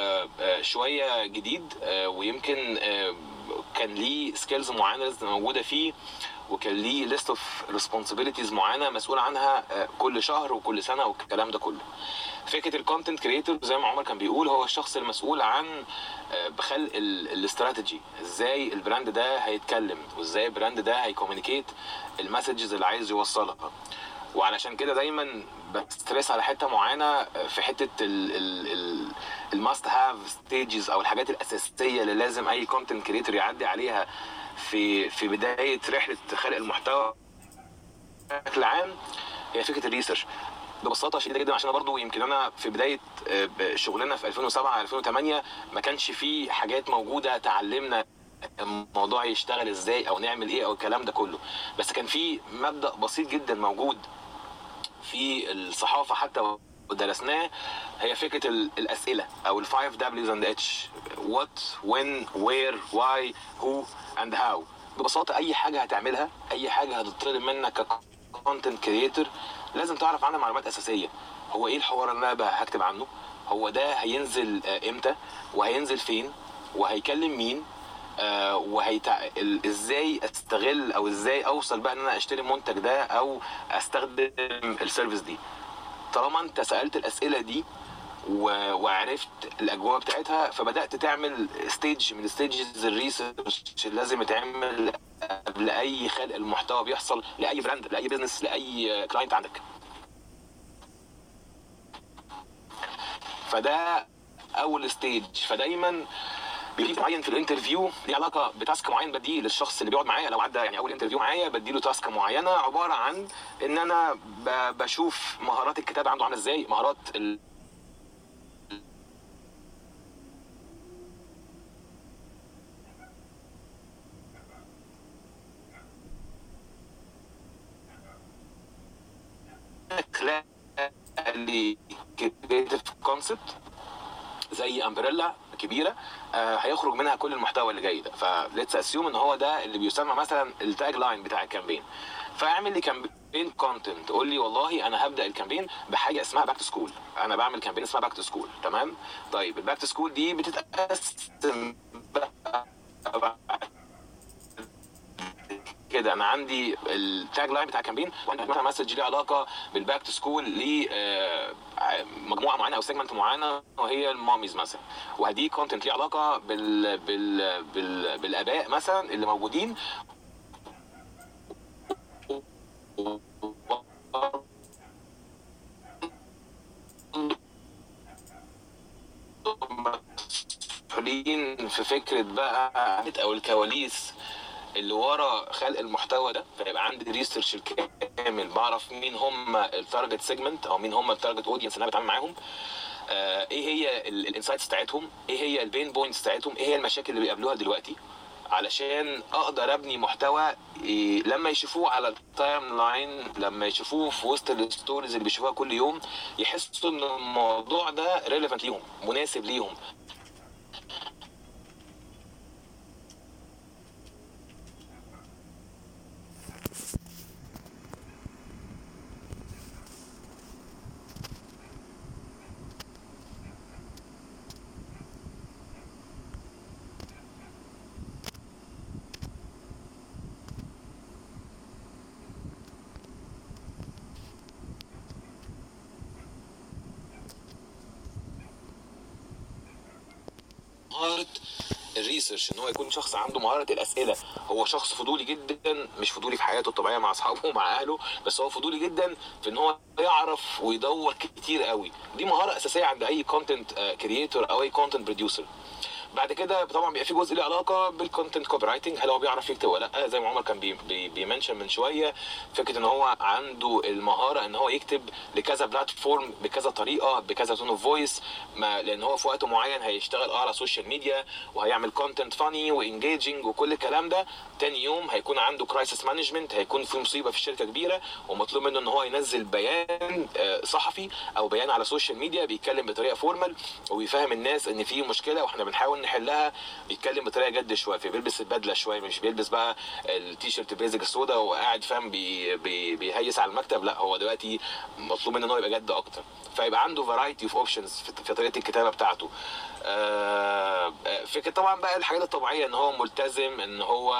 شويه جديد، ويمكن كان ليه سكيلز معينه موجوده فيه، وكان ليه ليست اوف ريسبونسبيلتيز معينه مسؤول عنها كل شهر وكل سنه والكلام ده كله. فكره الكونتنت كريتور زي ما عمر كان بيقول هو الشخص المسؤول عن بخلق الاستراتيجي، ازاي البراند ده هيتكلم وازاي البراند ده هيكوميونيكيت المسجز اللي عايز يوصلها. وعلشان كده دايما بستريس على حته معينه في حته الماست هاف ستيجز او الحاجات الاساسيه اللي لازم اي كونتنت كريتور يعدي عليها في في بدايه رحله خلق المحتوى بشكل عام. هي فكره الريسيرش ببساطه شديده جدا، عشان برضو يمكن انا في بدايه شغلنا في ألفين وسبعة ألفين وثمانية ما كانش في حاجات موجوده تعلمنا الموضوع يشتغل ازاي او نعمل ايه او الكلام ده كله، بس كان في مبدا بسيط جدا موجود في الصحافه حتى ودرسناه، هي فكره الاسئله او الفايف دبليوز اند اتش: وات، وين، وير، واي، هو اند هاو. ببساطه اي حاجه هتعملها، اي حاجه هتطلب منك ككونتنت كريتور، لازم تعرف عنها معلومات اساسيه. هو ايه الحوار اللي انا هكتب عنه؟ هو ده هينزل امتى، وهينزل فين، وهيكلم مين، آه وهيتع... ازاي استغل او ازاي اوصل بقى ان انا اشتري المنتج ده او استخدم السيرفيس دي. طالما انت سالت الاسئله دي و... وعرفت الاجواء بتاعتها، فبدات تعمل ستيج من ستيجز الريسيرش اللي لازم يتعمل قبل اي خلق المحتوى بيحصل لاي براند، لاي بزنس، لاي كلاينت عندك. فده اول ستيج. فدايما بيجي معين في الانترفيو ليه علاقه بتاسك معين بديه للشخص اللي بيقعد معايا. لو عدى يعني اول انترفيو معايا بديله تاسك معينه عباره عن ان انا بشوف مهارات الكتابه عنده عامله ازاي، مهارات ال... اللي كريتيف كونسبت زي امبريلا كبيره آه هيخرج منها كل المحتوى اللي جاي ده. فليتس اسيوم ان هو ده اللي بيسمى مثلا التاج لاين بتاع الكامبين. فاعمل لي كامبين كونتنت، قول لي والله انا هبدا الكامبين بحاجه اسمها باك تو سكول، انا بعمل كامبين اسمها باك تو سكول. تمام؟ طيب الباك تو سكول دي بتتقسم كده. انا عندي التاج لاين بتاع الكامبين، وعندي مثلا مسج ليه علاقه بالباك تو سكول لمجموعه معينه او سيجمنت معينه وهي الماميز مثلا، وهدي كونتنت ليه علاقه بال... بال... بال... بالاباء مثلا اللي موجودين مسؤولين في فكره بقى او الكواليس اللي ورا خلق المحتوى ده. فيبقى عندي ريسيرش كامل، بعرف مين هم التارجت سيجمنت او مين هم التارجت اودينس اللي انا بتعامل معاهم، آه ايه هي الانسايتس بتاعتهم، ايه هي البين بوينتس بتاعتهم، ايه هي المشاكل اللي بيقابلوها دلوقتي، علشان اقدر ابني محتوى إيه لما يشوفوه على التايم لاين، لما يشوفوه في وسط الستوريز اللي بيشوفوها كل يوم، يحسوا ان الموضوع ده ريليفنت ليهم، مناسب ليهم. مهارة الريسيرش، ان هو يكون شخص عنده مهارة الاسئلة. هو شخص فضولي جدا، مش فضولي في حياته الطبيعية مع اصحابه ومع اهله، بس هو فضولي جدا في ان هو يعرف ويدور كتير قوي. دي مهارة اساسية عند اي كونتنت كرييتور او اي كونتنت بروديوسر. بعد كده طبعا بيبقى في جزء له علاقه بالكونتنت كوبي رايتنج، هل هو بيعرف يكتب ولا لا. زي ما عمر كان بي بي بيمنشن من شويه، فكره ان هو عنده المهاره ان هو يكتب لكذا بلاتفورم بكذا طريقه بكذا تون اوف فويس، لان هو في وقت معين هيشتغل اه على السوشيال ميديا وهيعمل كونتنت فاني وانجيجنج وكل الكلام ده. تاني يوم هيكون عنده كرايسيس مانجمنت، هيكون في مصيبه في الشركه كبيره ومطلوب منه ان هو ينزل بيان صحفي او بيان على السوشيال ميديا بيتكلم بطريقه فورمال وبيفهم الناس ان في مشكله واحنا بنحاول نحلها. بيتكلم بطريقه جد شويه، بيلبس البدله شويه، مش بيلبس بقى التيشيرت بيزك السودا وقاعد فاهم بي بي بيهيس على المكتب. لا، هو دلوقتي مطلوب منه ان هو يبقى جد اكتر، فيبقى عنده فرايتي اوف اوبشنز في طريقه الكتابه بتاعته. فكره طبعا بقى الحاجات الطبيعيه ان هو ملتزم، ان هو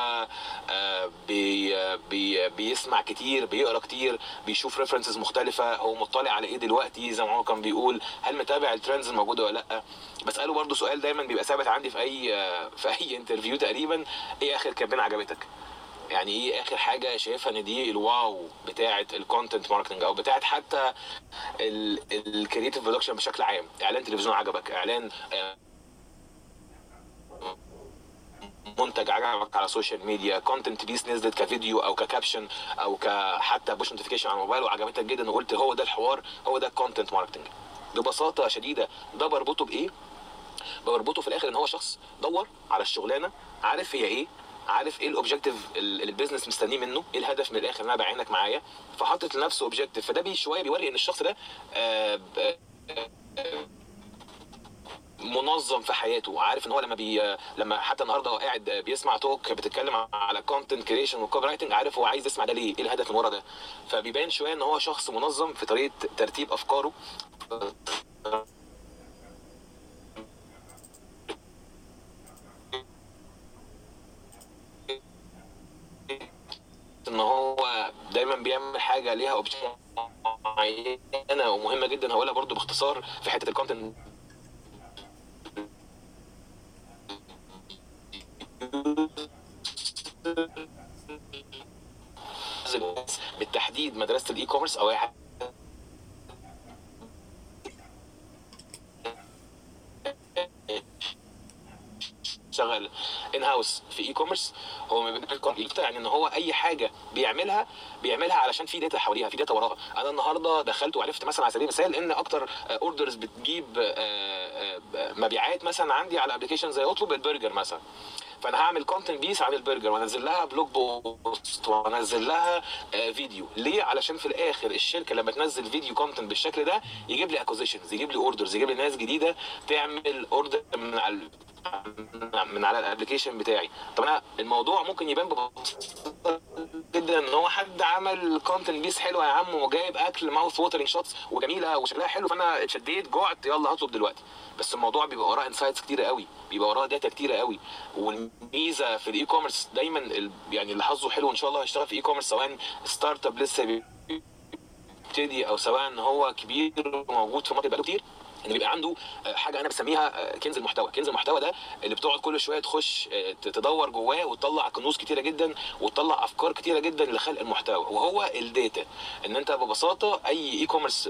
بي بي بيسمع كتير، بيقرا كتير، بيشوف ريفرنسز مختلفه، هو مطلع على ايه دلوقتي. زي ما هو كان بيقول هل متابع الترندز الموجوده ولا لا. بساله برضو سؤال دايما بيبقى ثابت عندي في اي في اي انترفيو تقريبا: ايه اخر كامبين عجبتك؟ يعني ايه اخر حاجه شايفها ان دي الواو بتاعه الكونتنت ماركتنج او بتاعه حتى الكرييتيف برودكشن بشكل عام؟ اعلان تلفزيون عجبك، اعلان منتج عجبك على السوشيال ميديا، كونتنت بيس نزلت كفيديو او ككابشن او كحتى بوش نوتيفيكيشن على الموبايل وعجبتك جدا وقلت هو ده الحوار، هو ده الكونتنت ماركتنج. ببساطه شديده ده بربطه بايه؟ بربطه في الاخر ان هو شخص دور على الشغلانه، عارف هي ايه، عارف ايه الاوبجيكتيف اللي البيزنس مستنيه منه، ايه الهدف من الاخر ان انا بعينك معايا، فحطت لنفسه اوبجيكتيف. فده بي شويه بيوري ان الشخص ده آآ آآ منظم في حياته، عارف ان هو لما بي لما حتى النهارده هو قاعد بيسمع توك بتتكلم على كونتنت كريشن وكوبي رايتنج، عارف هو عايز يسمع ده ليه، ايه الهدف من ورا ده. فبيبان شويه ان هو شخص منظم في طريقه ترتيب افكاره، ان هو دايما بيعمل حاجه ليها اوبشن معينه ومهمه جدا. هقولها برضو باختصار في حته الكونتنت، بالتحديد مدرسه الاي كوميرس او اي حاجه شغال ان هاوس في اي كوميرس، هو ما بيبقى يعني ان هو اي حاجه بيعملها بيعملها علشان في داتا حواليها، في داتا وراها. انا النهارده دخلت وعرفت مثلا على سبيل المثال ان اكتر اوردرز بتجيب مبيعات مثلا عندي على ابلكيشن زي اطلب البرجر مثلا، فانا هعمل كونتنت بيس عن البرجر وانزل لها بلوج بوست وانزل لها فيديو. ليه؟ علشان في الاخر الشركه لما تنزل فيديو كونتنت بالشكل ده يجيب لي اكوزيشنز، يجيب لي اوردرز، يجيب لي ناس جديده تعمل اوردر من على من على الابلكيشن بتاعي. طب انا الموضوع ممكن يبان ببساطه جدا ان هو حد عمل كونتنت بيس حلوه يا عم وجايب اكل ماوث ووترنج شوتس وجميله وشكلها حلو، فانا اتشديت جوعت يلا هطلب دلوقتي. بس الموضوع بيبقى وراه انسايتس كتيره قوي، بيبقى وراه داتا كتيره قوي. والميزه في الاي كوميرس دايما ال... يعني اللي حظه حلو ان شاء الله هيشتغل في اي كوميرس، سواء ستارت اب لسه بيبتدي او سواء ان هو كبير موجود في ماركت بقاله كتير، ان بيبقى عنده حاجه انا بسميها كنز المحتوى. كنز المحتوى ده اللي بتقعد كل شويه تخش تدور جواه وتطلع كنوز كتيره جدا وتطلع افكار كتيره جدا لخلق المحتوى، وهو الداتا. ان انت ببساطه اي اي كوميرس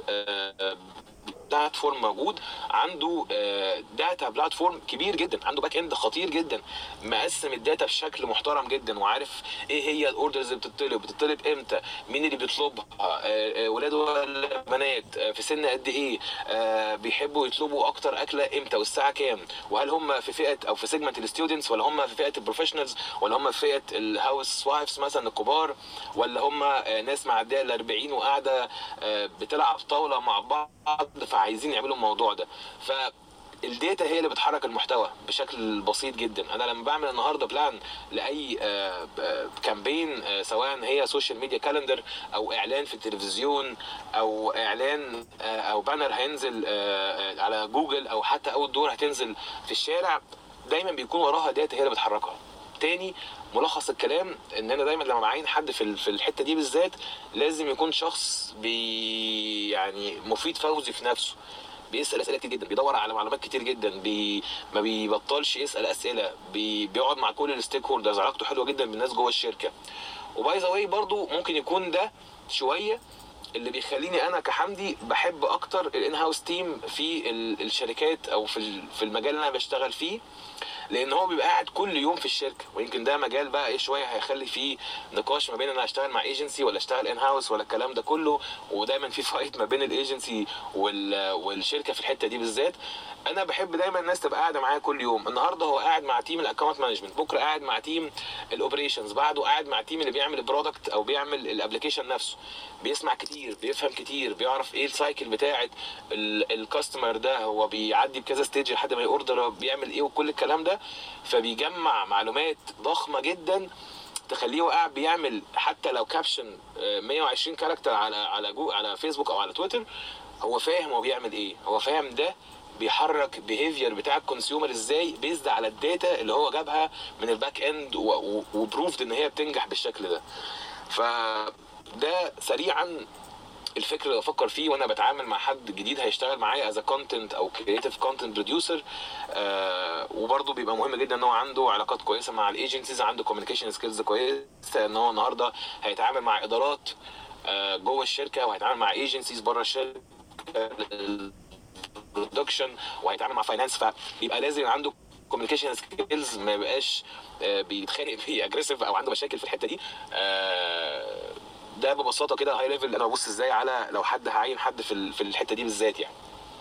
بلاتفورم موجود عنده داتا بلاتفورم كبير جدا، عنده باك اند خطير جدا، مقسم الداتا بشكل محترم جدا، وعارف ايه هي الاوردرز اللي بتطلب بتطلب امتى، مين اللي بيطلبها، ولاد ولا بنات، في سن قد ايه، بيحبوا يطلبوا اكتر اكله امتى والساعه كام، وهل هم في فئه او في سيجمنت الستودنتس ولا هم في فئه البروفيشنالز ولا هم في فئه الهاوس وايفز مثلا الكبار، ولا هم ناس معديه ال أربعين وقاعده بتلعب طاوله مع بعض فعايزين يعملوا الموضوع ده. فالداتا هي اللي بتحرك المحتوى بشكل بسيط جدا. انا لما بعمل النهارده بلان لاي كامبين، سواء هي سوشيال ميديا كالندر او اعلان في التلفزيون او اعلان او بانر هينزل على جوجل او حتى اول دور هتنزل في الشارع، دايما بيكون وراها داتا هي اللي بتحركها. تاني ملخص الكلام ان انا دايما لما بعين حد في في الحته دي بالذات لازم يكون شخص بي يعني مفيد فوزي في نفسه، بيسال اسئله كتير جدا، بيدور على معلومات كتير جدا، بي ما بيبطلش يسال اسئله، بي بيقعد مع كل الستيك هولدرز، علاقته حلوه جدا بالناس جوه الشركه. وباي ذا واي برضو ممكن يكون ده شويه اللي بيخليني انا كحمدي بحب اكتر الان هاوس تيم في الشركات او في في المجال اللي انا بشتغل فيه، لان هو بيبقى قاعد كل يوم في الشركه. ويمكن ده مجال بقى ايه شويه هيخلي فيه نقاش ما بين انا اشتغل مع ايجنسي ولا اشتغل ان هاوس ولا الكلام ده كله، ودايما في فايت ما بين الايجنسي والشركه في الحته دي بالذات. انا بحب دايما الناس تبقى قاعده معايا كل يوم. النهارده هو قاعد مع تيم الاكونت مانجمنت، بكره قاعد مع تيم الاوبريشنز، بعده قاعد مع تيم اللي بيعمل البرودكت او بيعمل الابلكيشن نفسه. بيسمع كتير، بيفهم كتير، بيعرف ايه السايكل بتاعه الكاستمر ده، هو بيعدي بكذا ستيج لحد ما يوردر، بيعمل ايه وكل الكلام ده. فبيجمع معلومات ضخمه جدا تخليه قاعد بيعمل حتى لو كابشن مية وعشرين كاركتر على على جو على فيسبوك او على تويتر، هو فاهم هو بيعمل ايه، هو فاهم ده بيحرك بيهيفير بتاع الكونسيومر ازاي بيزد على الداتا اللي هو جابها من الباك اند وبروفد ان هي بتنجح بالشكل ده. فده سريعا الفكر اللي بفكر فيه وانا بتعامل مع حد جديد هيشتغل معايا از كونتنت او كرييتيف كونتنت بروديوسر. وبرده بيبقى مهم جدا ان هو عنده علاقات كويسه مع الايجنسيز، عنده كوميونيكيشن سكيلز كويسه، ان هو النهارده هيتعامل مع ادارات آه جوه الشركه وهيتعامل مع ايجنسيز بره الشركه برودكشن وهيتعامل مع فاينانس، فبيبقى لازم عنده كوميونيكيشن سكيلز ما يبقاش آه بيتخانق بيه اجريسيف او عنده مشاكل في الحته دي. آه ده ببساطه كده هاي ليفل انا ببص ازاي على لو حد هعين حد في في الحته دي بالذات يعني.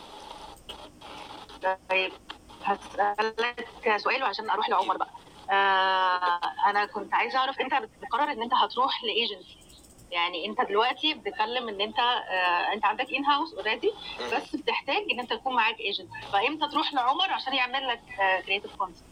طيب هسألك سؤال وعشان اروح لعمر بقى. آه انا كنت عايزه اعرف انت بتقرر ان انت هتروح لايجنسي، يعني انت دلوقتي بتتكلم ان انت آه انت عندك ان هاوس اوريدي، بس بتحتاج ان انت يكون معاك ايجنت، فامتى تروح لعمر عشان يعمل لك كرييتيف كونسبت؟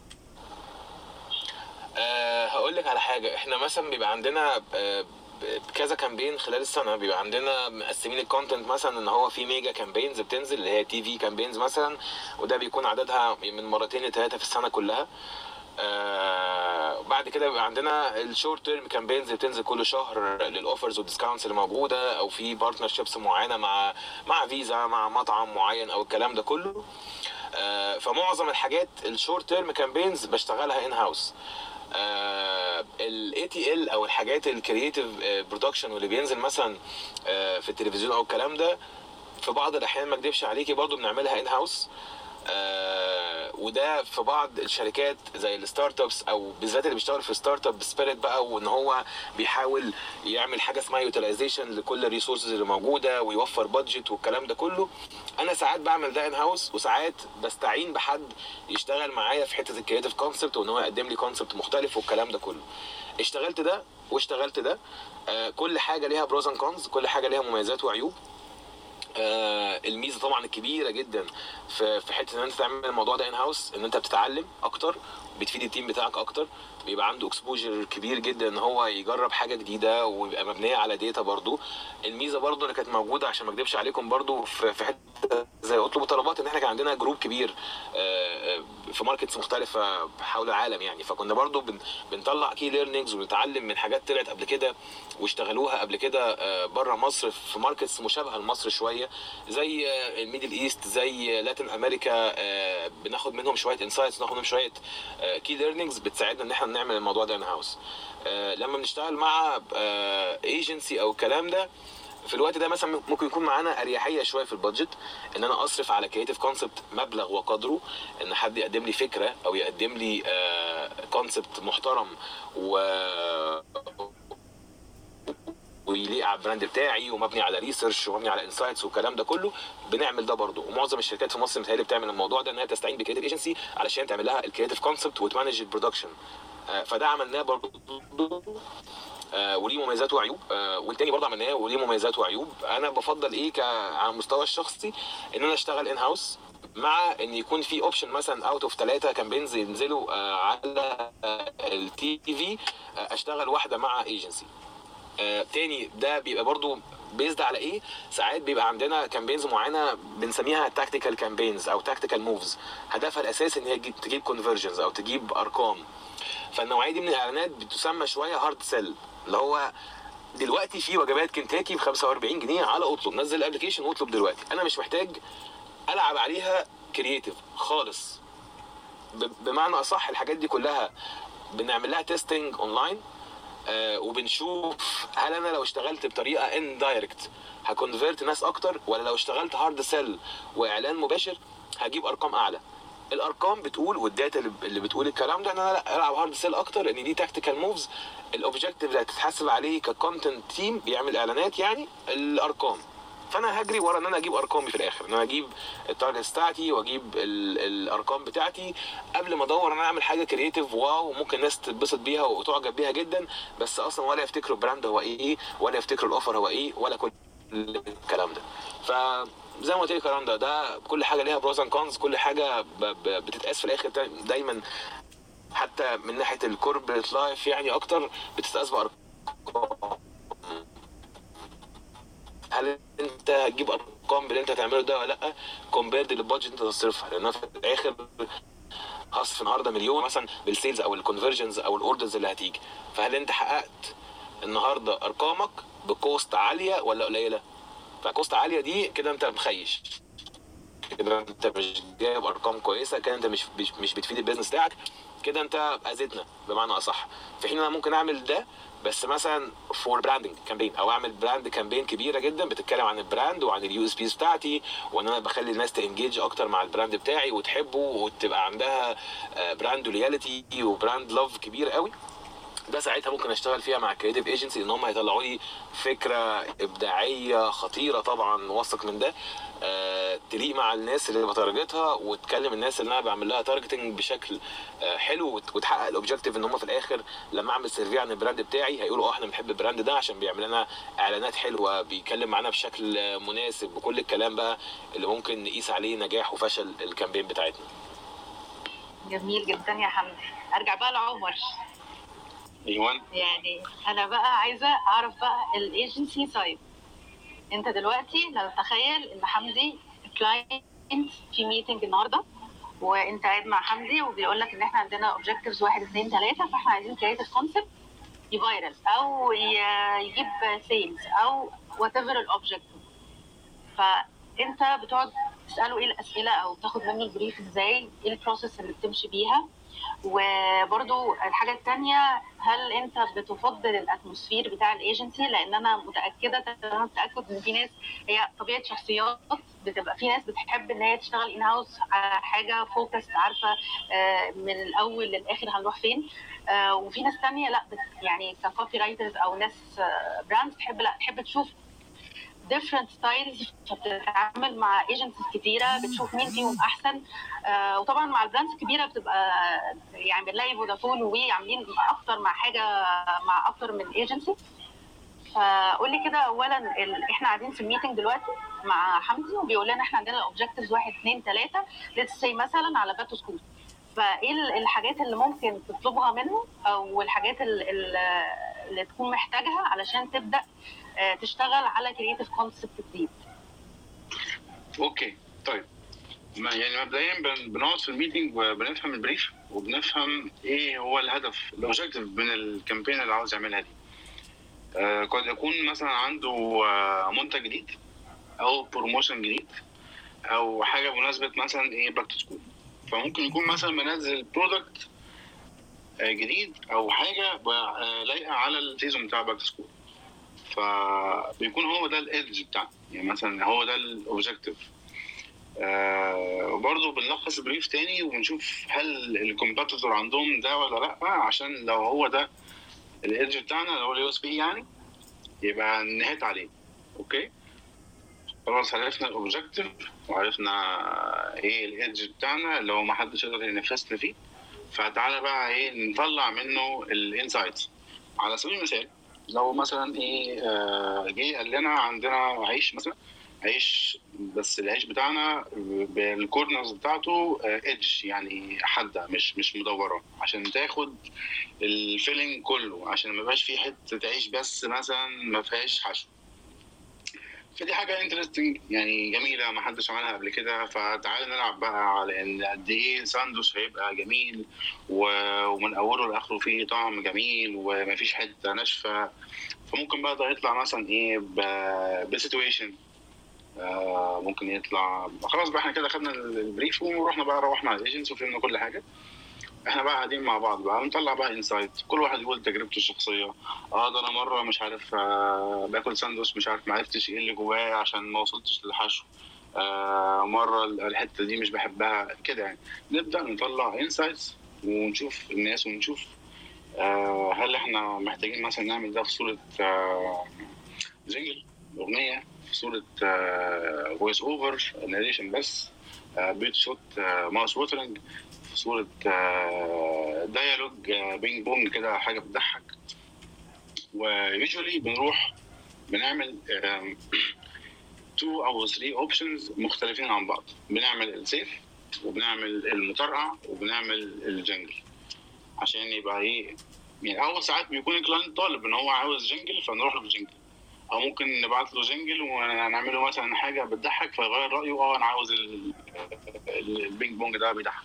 أه هقول لك على حاجه. احنا مثلا بيبقى عندنا أه كذا كامبين خلال السنه، بيبقى عندنا مقسمين الكونتنت مثلا ان هو في ميجا كامبينز بتنزل اللي هي تي في كامبينز مثلا، وده بيكون عددها من مرتين لثلاثه في السنه كلها. آه بعد كده بيبقى عندنا الشورت تيرم كامبينز اللي بتنزل كل شهر للاوفرز والديسكاونتس اللي موجوده، او في بارتنرشيبس معينه مع مع فيزا، مع مطعم معين، او الكلام ده كله. آه فمعظم الحاجات الشورت تيرم كامبينز بشتغلها ان هاوس. الاي تي ال او الحاجات الكرييتيف برودكشن واللي بينزل مثلا آه في التلفزيون او الكلام ده، في بعض الاحيان ما اكدبش عليكي برضو بنعملها ان هاوس. آه وده في بعض الشركات زي الستارت ابس، او بالذات اللي بيشتغل في ستارت اب سبيريت بقى، وان هو بيحاول يعمل حاجه اسمها يوتيلايزيشن لكل الريسورسز اللي موجوده ويوفر بادجت والكلام ده كله. انا ساعات بعمل ده ان هاوس، وساعات بستعين بحد يشتغل معايا في حته الكريتيف كونسبت، وان هو يقدم لي كونسبت مختلف والكلام ده كله. اشتغلت ده واشتغلت ده. آه كل حاجه ليها بروز اند كونز، كل حاجه ليها مميزات وعيوب. آه الميزه طبعا الكبيره جدا في في حته ان انت تعمل الموضوع ده ان هاوس، ان انت بتتعلم اكتر، بتفيد التيم بتاعك اكتر، بيبقى عنده اكسبوجر كبير جدا ان هو يجرب حاجه جديده، ويبقى مبنيه على داتا. برضو الميزه برضو اللي كانت موجوده عشان ما اكدبش عليكم برضو في في حته زي اطلب طلبات، ان احنا كان عندنا جروب كبير آه في ماركتس مختلفه حول العالم يعني، فكنا برضو بن بنطلع كي ليرنينجز ونتعلم من حاجات طلعت قبل كده واشتغلوها قبل كده آه بره مصر في ماركتس مشابهه لمصر شويه، زي آه الميدل ايست، زي لاتين امريكا. آه بناخد منهم شويه انسايتس، ناخد منهم شويه كي آه ليرنينجز بتساعدنا ان احنا نعمل الموضوع ده ان هاوس. آه لما بنشتغل مع ايجنسي آه او الكلام ده، في الوقت ده مثلا ممكن يكون معانا اريحيه شويه في البادجت، ان انا اصرف على كريتيف كونسبت مبلغ وقدره، ان حد يقدم لي فكره او يقدم لي كونسبت محترم و ويليق على البراند بتاعي، ومبني على ريسيرش، ومبني على انسايتس والكلام ده كله. بنعمل ده برضه، ومعظم الشركات في مصر متهيألي بتعمل الموضوع ده، انها تستعين بكريتيف ايجنسي علشان تعمل لها الكريتيف كونسبت وتمانج البرودكشن. فده عملناه برضه آه وليه مميزات وعيوب. آه والتاني برضه عملناه وليه مميزات وعيوب. انا بفضل ايه على المستوى الشخصي ان انا اشتغل ان هاوس، مع ان يكون في اوبشن مثلا اوت اوف ثلاثه كامبينز ينزلوا آه على آه التي في، آه اشتغل واحده مع ايجنسي. آه تاني ده بيبقى برضو بيزد على ايه؟ ساعات بيبقى عندنا كامبينز معينه بنسميها تاكتيكال كامبينز او تاكتيكال موفز، هدفها الاساسي ان هي تجيب كونفرجنز او تجيب ارقام. فالنوعيه دي من الاعلانات بتسمى شويه هارد سيل، اللي هو دلوقتي في وجبات كنتاكي ب خمسة وأربعين جنيه على اطلب، نزل الابلكيشن واطلب دلوقتي. انا مش محتاج العب عليها كرييتيف خالص، بمعنى اصح الحاجات دي كلها بنعمل لها تيستنج اونلاين، آه وبنشوف هل انا لو اشتغلت بطريقه ان دايركت هكونفيرت ناس اكتر، ولا لو اشتغلت هارد سيل واعلان مباشر هجيب ارقام اعلى. الارقام بتقول والداتا اللي بتقول الكلام ده ان انا لا العب هارد سيل اكتر، ان دي تاكتيكال موفز. الاوبجكتيف اللي هتتحاسب عليه ككونتنت تيم بيعمل اعلانات يعني الارقام، فانا هجري ورا ان انا اجيب ارقامي في الاخر، ان انا اجيب التارجت بتاعتي واجيب الارقام بتاعتي، قبل ما ادور ان انا اعمل حاجه كرييتيف واو ممكن الناس تتبسط بيها وتعجب بيها جدا، بس اصلا ولا يفتكروا البراند هو ايه، ولا يفتكروا الاوفر هو ايه، ولا كل الكلام ده. فزي ما قلت لك يا رندا، ده كل حاجه ليها بروز اند كونز، كل حاجه بتتقاس في الاخر دايما، حتى من ناحيه الكوربريت لايف يعني اكتر بتتقاس بارقام. هل انت هتجيب ارقام باللي انت هتعمله ده ولا لا، كومبيرد للبادجت انت تصرفها؟ لان في الاخر هصرف النهارده مليون مثلا بالسيلز او الكونفرجنز او الاوردرز اللي هتيجي، فهل انت حققت النهارده ارقامك بكوست عاليه ولا قليله؟ فكوست عاليه دي كده انت مخيش، كده انت مش جايب ارقام كويسه، كده انت مش مش بتفيد البيزنس بتاعك، كده انت اذيتنا بمعنى اصح. في حين انا ممكن اعمل ده بس مثلا فور براندنج كامبين، او اعمل براند كامبين كبيره جدا بتتكلم عن البراند وعن اليو اس بيز بتاعتي، وان انا بخلي الناس تنجيج اكتر مع البراند بتاعي وتحبه، وتبقى عندها براند لويالتي وبراند لاف كبير قوي. ده ساعتها ممكن اشتغل فيها مع كريتيف ايجنسي ان هم هيطلعوا لي فكره ابداعيه خطيره، طبعا واثق من ده، آه، تليق مع الناس اللي بتارجتها وتكلم الناس اللي انا بعمل لها تارجتنج بشكل آه حلو، وتحقق الاوبجيكتيف ان هم في الاخر لما اعمل سيرفي عن البراند بتاعي هيقولوا اه احنا بنحب البراند ده عشان بيعمل لنا اعلانات حلوه، بيتكلم معانا بشكل آه مناسب، بكل الكلام بقى اللي ممكن نقيس عليه نجاح وفشل الكامبين بتاعتنا. جميل جدا يا حمدي. ارجع بقى لعمر. ايوه، يعني انا بقى عايزه اعرف بقى الايجنسي سايد. انت دلوقتي لو تخيل ان حمدي كلاينت في ميتنج النهارده، وانت قاعد مع حمدي وبيقول لك ان احنا عندنا اوبجكتيفز واحد اتنين تلاته، فاحنا عايزين كريتيف كونسبت يفايرل او يجيب سيلز او وات ايفر الاوبجكتيف. فانت بتقعد تساله ايه الاسئله او تاخد منه البريف ازاي، ايه البروسيس اللي بتمشي بيها. وبرضو الحاجه الثانيه، هل انت بتفضل الاتموسفير بتاع الايجنسي؟ لان انا متاكده تمام تاكد ان في ناس هي طبيعه شخصيات، بتبقى في ناس بتحب ان هي تشتغل ان هاوس على حاجه فوكس، عارفه من الاول للاخر هنروح فين. وفي ناس ثانيه لا، يعني ككوبي رايترز او ناس براندز تحب لا تحب تشوف different styles، فبتتعامل مع agencies كتيرة بتشوف مين فيهم أحسن. آه وطبعا مع البراندز الكبيرة بتبقى يعني بنلاقي فودافون ووي عاملين أكتر مع حاجة مع أكتر من agency. فقول لي كده أولا، إحنا قاعدين في الميتنج دلوقتي مع حمدي وبيقول لنا إحنا عندنا objectives واحد اتنين تلاتة let's say مثلا على باك تو سكول، فإيه الحاجات اللي ممكن تطلبها منه أو الحاجات اللي, اللي تكون محتاجها علشان تبدأ تشتغل على كرييتيف كونسبت جديد؟ اوكي طيب، ما يعني مبدئيا بنقعد في الميتنج وبنفهم البريف وبنفهم ايه هو الهدف الاوبجيكتيف من الكامبين اللي عاوز يعملها دي. آه قد يكون مثلا عنده آه منتج جديد او بروموشن جديد او حاجه بمناسبه مثلا ايه باك تو سكول، فممكن يكون مثلا منزل برودكت آه جديد او حاجه آه لايقه على السيزون بتاع باك تو سكول، فبيكون هو ده الادج بتاعنا، يعني مثلا هو ده الاوبجيكتيف. آه وبرضه بنلخص بريف تاني وبنشوف هل الكومبيتيتور عندهم ده ولا لا، عشان لو هو ده الادج بتاعنا اللي هو اليو اس بي يعني يبقى نهيت عليه. اوكي خلاص، عرفنا الاوبجيكتيف وعرفنا ايه الادج بتاعنا اللي هو ما حدش يقدر ينافسنا فيه، فتعالى بقى ايه نطلع منه الانسايتس. على سبيل المثال لو مثلا ايه آه جه قال لنا عندنا عيش مثلا، عيش بس العيش بتاعنا بالكورنرز بتاعته ايدج يعني حاده مش مش مدوره، عشان تاخد الفيلينج كله، عشان ما يبقاش فيه حته عيش بس مثلا ما فيهاش حشو. فدي حاجه انترستنج يعني جميله ما حدش عملها قبل كده، فتعالى نلعب بقى على ان قد ايه ساندوتش هيبقى جميل ومن اوله لاخره فيه طعم جميل ومفيش حته ناشفه. فممكن بقى ده يطلع مثلا ايه بسيتويشن، آه ممكن يطلع خلاص بقى احنا كده خدنا البريف ورحنا بقى روحنا على الايجنسي وفهمنا كل حاجه. احنا بقى قاعدين مع بعض بقى ونطلع بقى انسايت، كل واحد يقول تجربته الشخصيه. اه ده انا مره مش عارف آه باكل ساندوتش مش عارف ما عرفتش ايه اللي جواه عشان ما وصلتش للحشو، آه مره الحته دي مش بحبها كده. يعني نبدا نطلع انسايتس ونشوف الناس ونشوف آه هل احنا محتاجين مثلا نعمل ده في صوره آه جينجل اغنيه، في صوره فويس اوفر ناريشن بس، آه بيت شوت آه ماوس ووترنج، في صوره آه ديالوج آه بينج بونج كده حاجه بتضحك. ويوجوالي بنروح بنعمل تو او ثري اوبشنز مختلفين عن بعض، بنعمل السيف وبنعمل المترقع وبنعمل الجنجل، عشان يبقى ايه يعني. اول ساعات بيكون الكلاينت طالب ان هو عاوز جنجل فنروح له بالجنجل، او ممكن نبعت له جنجل ونعمله مثلا حاجه بتضحك فيغير رايه، اه انا عاوز البينج بونج ده بيضحك.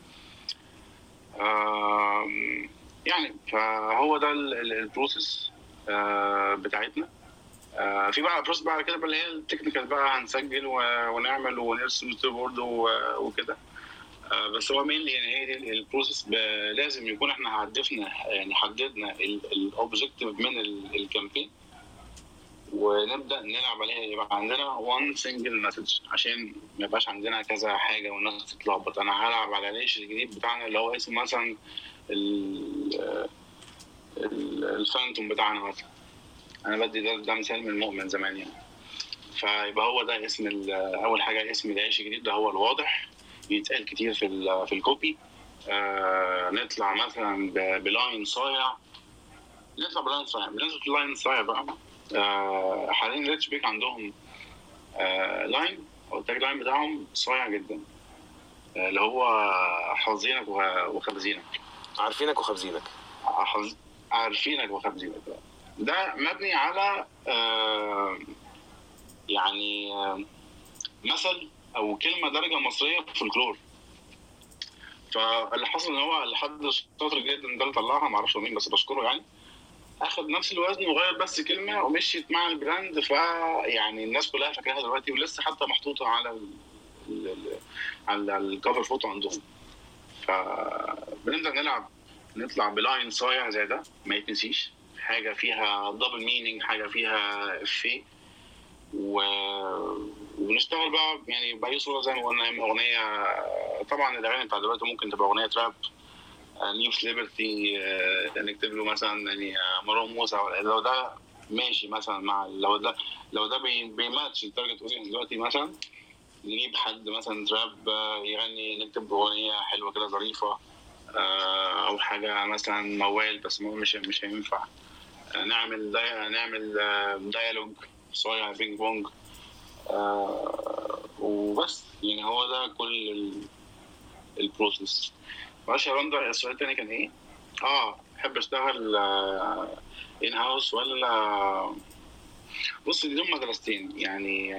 يعني فهو ده البروسيس بتاعتنا. في بقى بروسيس بقى كده اللي هي التكنيكال بقى، هنسجل ونعمل ونرسم ستوري بورد وكده. بس هو مين يعني هي دي البروسيس، لازم يكون احنا هدفنا يعني حددنا الاوبجيكتيف من الكامبين ونبدا نلعب عليها، يبقى عندنا وان سنجل مسج عشان ما يبقاش عندنا كذا حاجه والناس تتلخبط. انا هلعب على العيش الجديد بتاعنا اللي هو اسمه مثلا ال- الفانتوم بتاعنا مثلا. انا بدي ده, ده مثال من المؤمن زمان يعني. فيبقى هو ده اسم ال- اول حاجه اسم العيش الجديد ده هو الواضح، بيتقال كتير في ال- في الكوبي. آه نطلع مثلا ب- بلاين صايع، نطلع بلاين صايع. بالنسبه للاين صايع بقى، آه حاليا ريتش بيك عندهم آه لاين او التاج لاين بتاعهم صايع جدا، آه اللي هو حافظينك وه- وخابزينك. عارفينك وخابزينك. حافظ- عارفينك وخابزينك. ده مبني على آه يعني آه مثل او كلمه درجه مصريه في فولكلور. فاللي حصل ان هو لحد شاطر جدا ده اللي طلعها، ما اعرفش مين بس بشكره يعني، اخد نفس الوزن وغير بس كلمه ومشيت مع البراند. فيعني الناس كلها فاكراها دلوقتي، ولسه حتى محطوطه على ال ال على الكفر فوتو عندهم. فبنبدا نلعب نطلع بلاين صايع زي ده ما يتنسيش، حاجه فيها دبل مينينج، حاجه فيها افيه، و... وبنشتغل بقى يعني باي صوره زي ما قلنا. اغنيه طبعا الاغاني بتاع دلوقتي ممكن تبقى اغنيه راب، نيوز ليبرتي، نكتب له مثلا يعني مروان موسى، لو ده ماشي مثلا مع لو ده لو ده بي- بيماتش التارجت اودينس دلوقتي، مثلا نجيب حد مثلا تراب يغني، نكتب اغنيه حلوه كده ظريفه، آه، او حاجه مثلا موال بس مو مش مش هينفع. آه، نعمل داي... نعمل آه، دايالوج صايع بينج بونج، آه، وبس. يعني هو ده كل ال- البروسيس. معلش يا رندا، السؤال التاني كان ايه؟ اه بحب اشتغل ان هاوس ولا؟ بص دي دول مدرستين يعني.